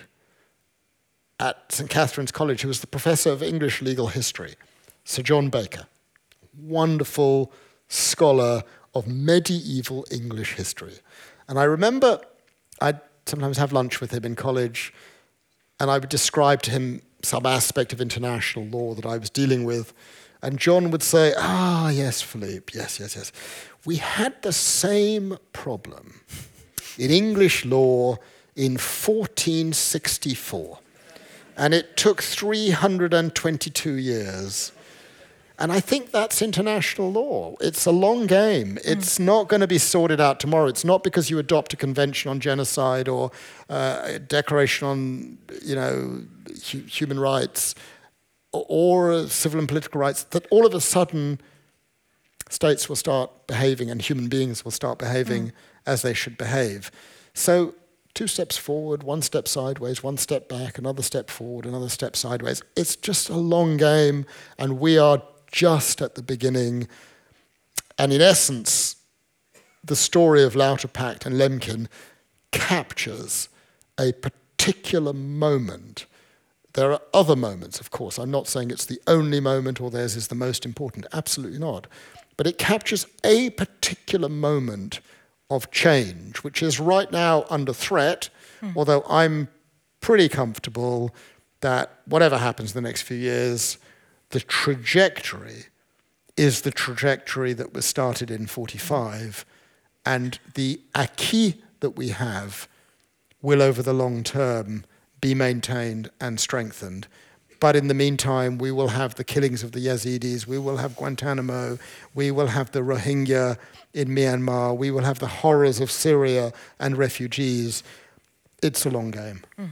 at St Catherine's College who was the professor of English legal history, Sir John Baker, wonderful scholar of medieval English history. And I remember I'd sometimes have lunch with him in college, and I would describe to him some aspect of international law that I was dealing with, and John would say, ah, yes, Philippe, yes, yes, yes. We had the same problem in English law in fourteen sixty-four, and it took three hundred twenty-two years. And I think that's international law. It's a long game. It's mm. not going to be sorted out tomorrow. It's not because you adopt a convention on genocide or uh, a declaration on, you know, hu- human rights or, or civil and political rights that all of a sudden states will start behaving and human beings will start behaving mm. as they should behave. So two steps forward, one step sideways, one step back, another step forward, another step sideways. It's just a long game, and we are just at the beginning. And in essence, the story of Lauterpacht and Lemkin captures a particular moment. There are other moments, of course. I'm not saying it's the only moment or theirs is the most important. Absolutely not. But it captures a particular moment of change, which is right now under threat, mm. although I'm pretty comfortable that whatever happens in the next few years, the trajectory is the trajectory that was started in forty-five, and the acquis that we have will, over the long term, be maintained and strengthened. But in the meantime, we will have the killings of the Yazidis, we will have Guantanamo, we will have the Rohingya in Myanmar, we will have the horrors of Syria and refugees. It's a long game. Mm.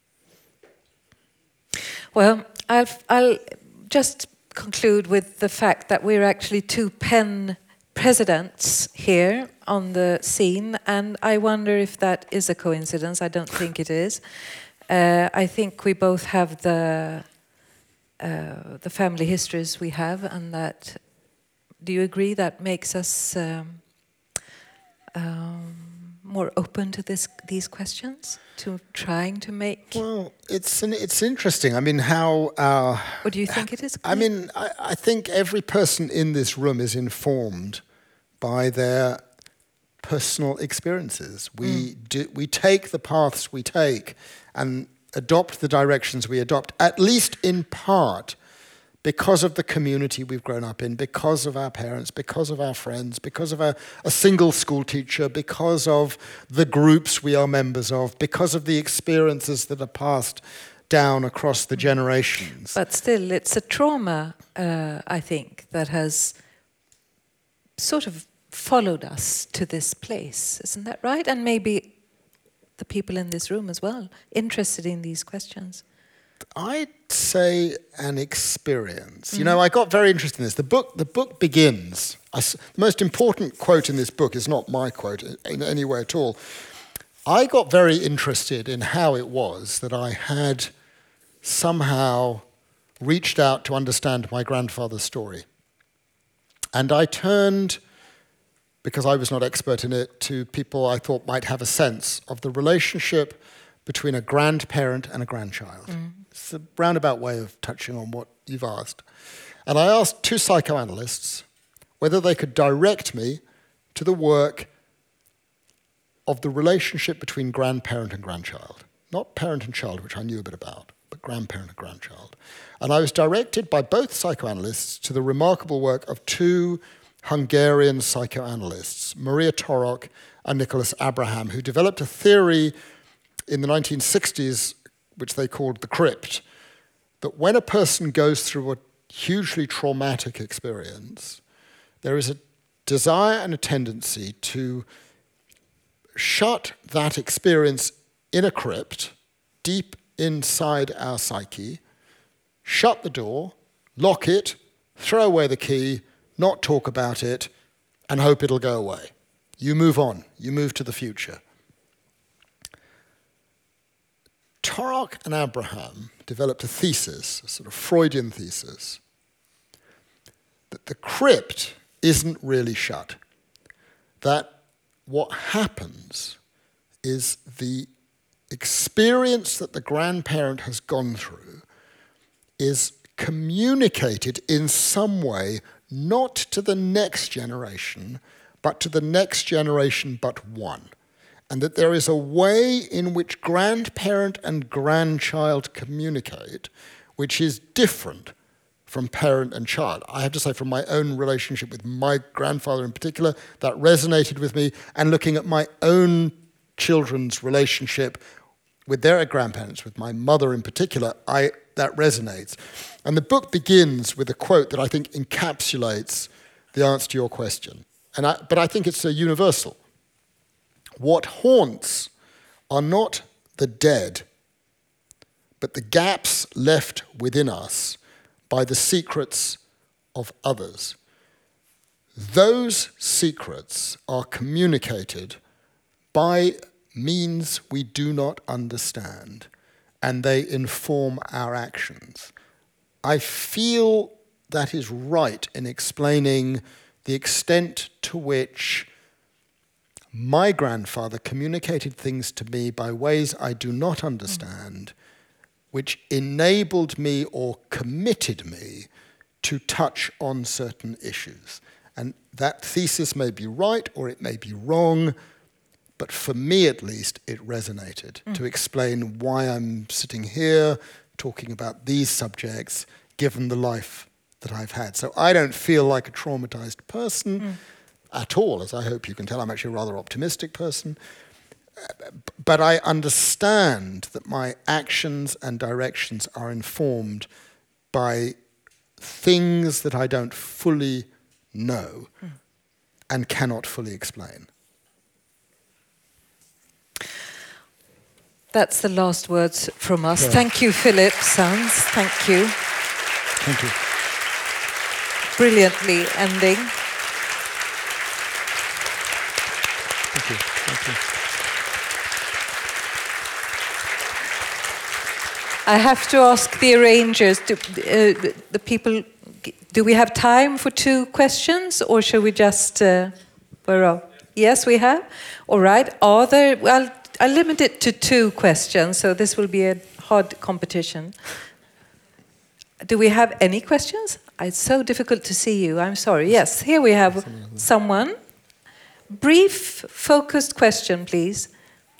Well, I'll, I'll just conclude with the fact that we're actually two pen presidents here on the scene, and I wonder if that is a coincidence. I don't think it is. Uh, I think we both have the uh, the family histories we have, and that, do you agree, that makes us um, um, more open to this these questions, to trying to make? Well, it's an, it's interesting. I mean, how our... Or do you think it is? I mean, I, I think every person in this room is informed by their personal experiences. We mm. do, we take the paths we take and adopt the directions we adopt, at least in part, because of the community we've grown up in, because of our parents, because of our friends, because of a, a single school teacher, because of the groups we are members of, because of the experiences that are passed down across the generations. But still, it's a trauma, uh, I think, that has sort of followed us to this place. Isn't that right? And maybe the people in this room as well, interested in these questions. I'd say an experience. Mm-hmm. You know, I got very interested in this. The book, the book begins. I, the most important quote in this book is not my quote in any way at all. I got very interested in how it was that I had somehow reached out to understand my grandfather's story. And I turned, because I was not expert in it, to people I thought might have a sense of the relationship between a grandparent and a grandchild. Mm. It's a roundabout way of touching on what you've asked. And I asked two psychoanalysts whether they could direct me to the work of the relationship between grandparent and grandchild. Not parent and child, which I knew a bit about, but grandparent and grandchild. And I was directed by both psychoanalysts to the remarkable work of two Hungarian psychoanalysts, Maria Torok and Nicholas Abraham, who developed a theory in the nineteen sixties, which they called the crypt, that when a person goes through a hugely traumatic experience, there is a desire and a tendency to shut that experience in a crypt, deep inside our psyche, shut the door, lock it, throw away the key, not talk about it, and hope it'll go away. You move on. You move to the future. Torok and Abraham developed a thesis, a sort of Freudian thesis, that the crypt isn't really shut. That what happens is the experience that the grandparent has gone through is communicated in some way, not to the next generation, but to the next generation but one. And that there is a way in which grandparent and grandchild communicate, which is different from parent and child. I have to say, from my own relationship with my grandfather in particular, that resonated with me, and looking at my own children's relationship with their grandparents, with my mother in particular, I, that resonates. And the book begins with a quote that I think encapsulates the answer to your question. And I, but I think it's a universal. What haunts are not the dead, but the gaps left within us by the secrets of others. Those secrets are communicated by means we do not understand, and they inform our actions. I feel that is right in explaining the extent to which my grandfather communicated things to me by ways I do not understand, which enabled me or committed me to touch on certain issues. And that thesis may be right or it may be wrong, but for me at least, it resonated mm. to explain why I'm sitting here talking about these subjects, given the life that I've had. So I don't feel like a traumatized person mm. at all, as I hope you can tell. I'm actually a rather optimistic person. But I understand that my actions and directions are informed by things that I don't fully know mm. and cannot fully explain. That's the last words from us. Yeah. Thank you, Philip Sands. Thank you. Thank you. Brilliantly ending. Thank you. Thank you. I have to ask the arrangers, do, uh, the people, do we have time for two questions, or should we just, uh, where are, yes, we have? All right, are there, well, I'll limit it to two questions, so this will be a hard competition. Do we have any questions? It's so difficult to see you, I'm sorry. Yes, here we have someone. Brief, focused question, please.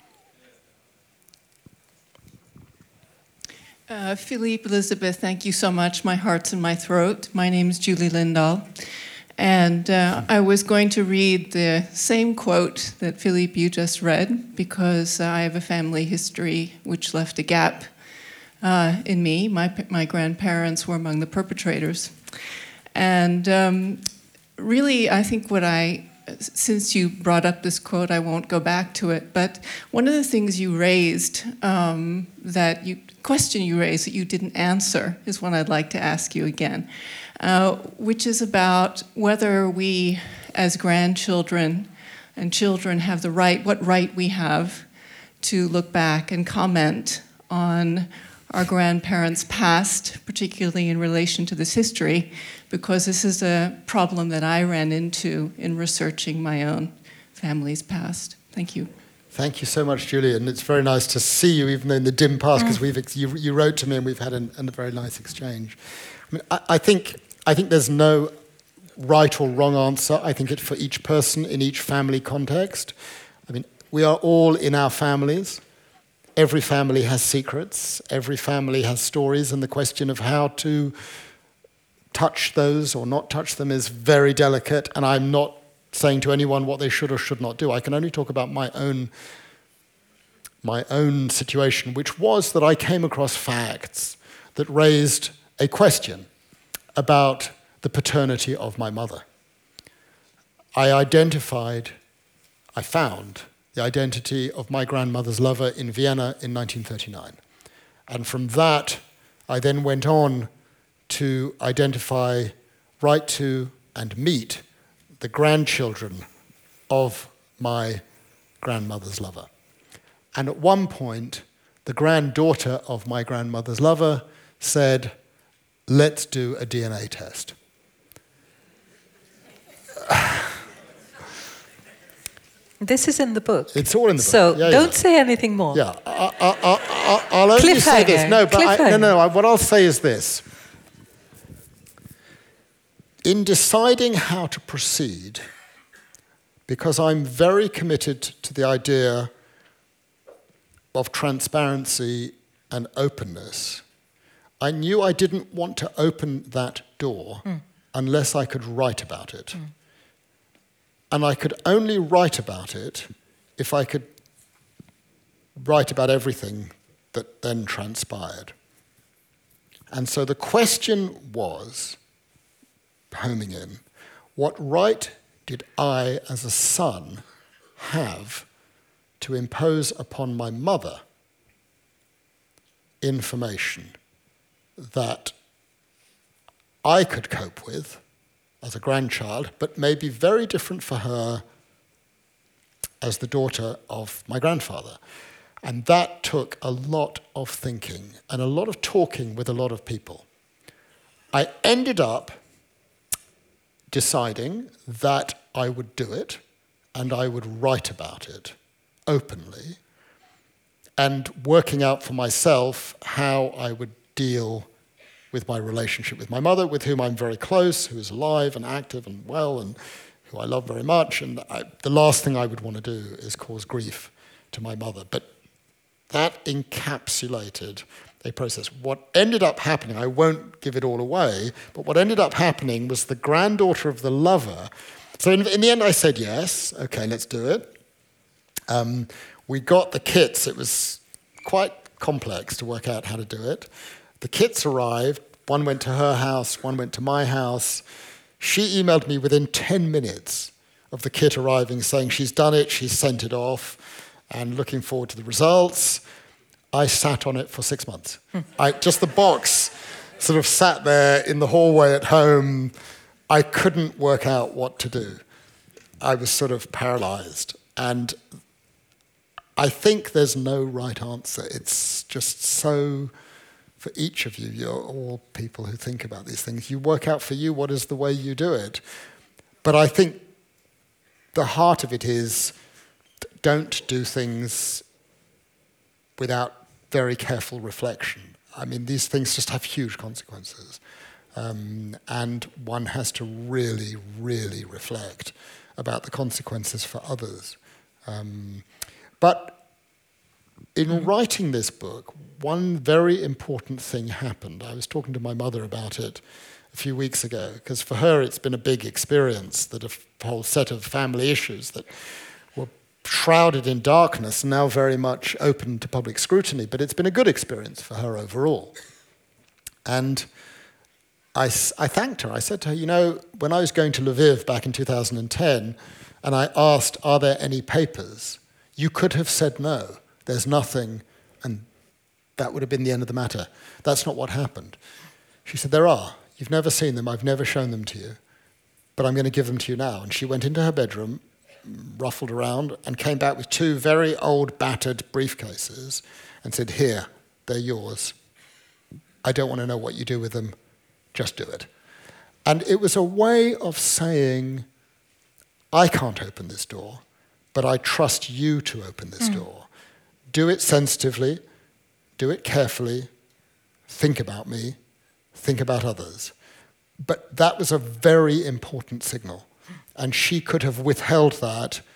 Uh, Philippe, Elizabeth, thank you so much. My heart's in my throat. My name is Julie Lindahl. And uh, I was going to read the same quote that Philippe, you just read, because uh, I have a family history which left a gap uh, in me. My, my grandparents were among the perpetrators. And um, really, I think what I, since you brought up this quote, I won't go back to it, but one of the things you raised, um, that you, question you raised that you didn't answer is one I'd like to ask you again. Uh, which is about whether we, as grandchildren and children, have the right, what right we have to look back and comment on our grandparents' past, particularly in relation to this history, because this is a problem that I ran into in researching my own family's past. Thank you. Thank you so much, Julie, and it's very nice to see you, even though in the dim past, because we've ex- you, you wrote to me and we've had an, a very nice exchange. I mean, I, I think. I think there's no right or wrong answer. I think it's for each person in each family context. I mean, we are all in our families. Every family has secrets. Every family has stories, and the question of how to touch those or not touch them is very delicate, and I'm not saying to anyone what they should or should not do. I can only talk about my own my own situation, which was that I came across facts that raised a question about the paternity of my mother. I identified, I found the identity of my grandmother's lover in Vienna in nineteen thirty-nine. And from that, I then went on to identify, write to, and meet the grandchildren of my grandmother's lover. And at one point, the granddaughter of my grandmother's lover said, let's do a D N A test. This is in the book. It's all in the book. So yeah, don't yeah. say anything more. Yeah, I, I, I, I'll only say this. No, but I, no, no, I, what I'll say is this. In deciding how to proceed, because I'm very committed to the idea of transparency and openness, I knew I didn't want to open that door mm. unless I could write about it. Mm. And I could only write about it if I could write about everything that then transpired. And so the question was, homing in, what right did I, as a son, have to impose upon my mother information that I could cope with as a grandchild, but may be very different for her as the daughter of my grandfather. And that took a lot of thinking and a lot of talking with a lot of people. I ended up deciding that I would do it and I would write about it openly, and working out for myself how I would deal with my relationship with my mother, with whom I'm very close, who is alive and active and well, and who I love very much. And I, the last thing I would want to do is cause grief to my mother. But that encapsulated a process. What ended up happening, I won't give it all away, but what ended up happening was the granddaughter of the lover. So in, in the end I said yes, okay, let's do it. Um, we got the kits. It was quite complex to work out how to do it. The kits arrived. One went to her house, one went to my house. She emailed me within ten minutes of the kit arriving saying she's done it, she's sent it off, and looking forward to the results. I sat on it for six months. Hmm. I, just the box sort of sat there in the hallway at home. I couldn't work out what to do. I was sort of paralyzed. And I think there's no right answer. It's just so, for each of you, you're all people who think about these things. You work out for you what is the way you do it. But I think the heart of it is, don't do things without very careful reflection. I mean, these things just have huge consequences. Um, and one has to really, really reflect about the consequences for others. Um, but in writing this book, one very important thing happened. I was talking to my mother about it a few weeks ago, because for her it's been a big experience, that a whole set of family issues that were shrouded in darkness and now very much open to public scrutiny, but it's been a good experience for her overall. And I, I thanked her. I said to her, you know, when I was going to Lviv back in two thousand ten, and I asked, are there any papers? You could have said no, there's nothing, and that would have been the end of the matter. That's not what happened. She said, there are. You've never seen them, I've never shown them to you, but I'm going to give them to you now. And she went into her bedroom, ruffled around, and came back with two very old, battered briefcases and said, here, they're yours. I don't want to know what you do with them, just do it. And it was a way of saying, I can't open this door, but I trust you to open this mm. door. Do it sensitively, do it carefully, think about me, think about others. But that was a very important signal. And she could have withheld that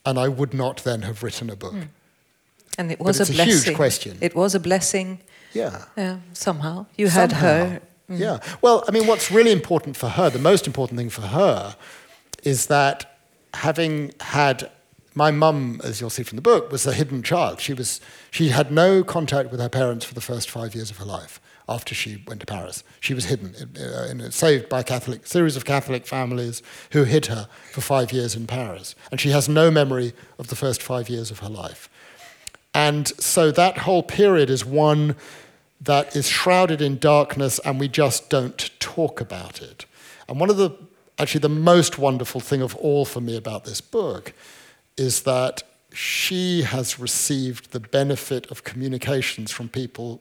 and I would not then have written a book. Mm. And it was But a it's a blessing. huge question. It was a blessing. Yeah. Uh, somehow you had Somehow. her. Mm. Yeah. Well, I mean, what's really important for her, the most important thing for her, is that having had my mum, as you'll see from the book, was a hidden child. She was she had no contact with her parents for the first five years of her life after she went to Paris. She was hidden, uh, and saved by a Catholic series of Catholic families who hid her for five years in Paris, and she has no memory of the first five years of her life. And so that whole period is one that is shrouded in darkness, and we just don't talk about it. And one of the, actually the most wonderful thing of all for me about this book is that she has received the benefit of communications from people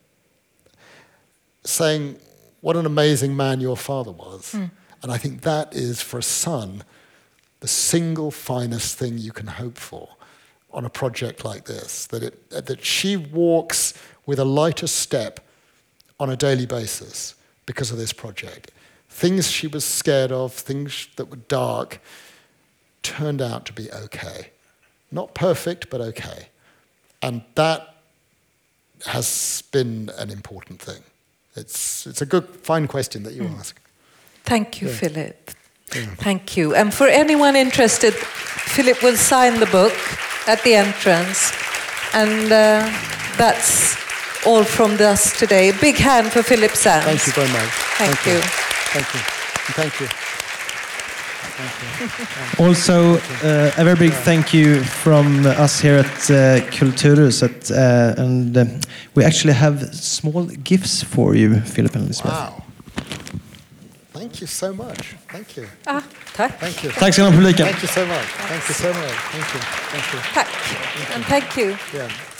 saying, what an amazing man your father was. Mm. And I think that is, for a son, the single finest thing you can hope for on a project like this, that it, that she walks with a lighter step on a daily basis because of this project. Things she was scared of, things that were dark, turned out to be okay. Not perfect, but okay. And that has been an important thing. It's, it's a good, fine question that you mm. ask. Thank you, yeah. Philip. Yeah. Thank you. And for anyone interested, Philip will sign the book at the entrance. And uh, that's all from us today. A big hand for Philip Sands. Thank you very much. Thank, Thank you. you. Thank you. Thank you. Thank you. Also, uh, a very big thank you from us here at uh, Kulturhuset. Uh, and uh, we actually have small gifts for you, Philip and Elizabeth. Wow. Thank you so much. Thank you. Ah, tack. Thank you. Tack ska ni ha, publiken. Thank you so much. Thank you so much. Thank you. Thank you. Tack. And thank you. Yeah.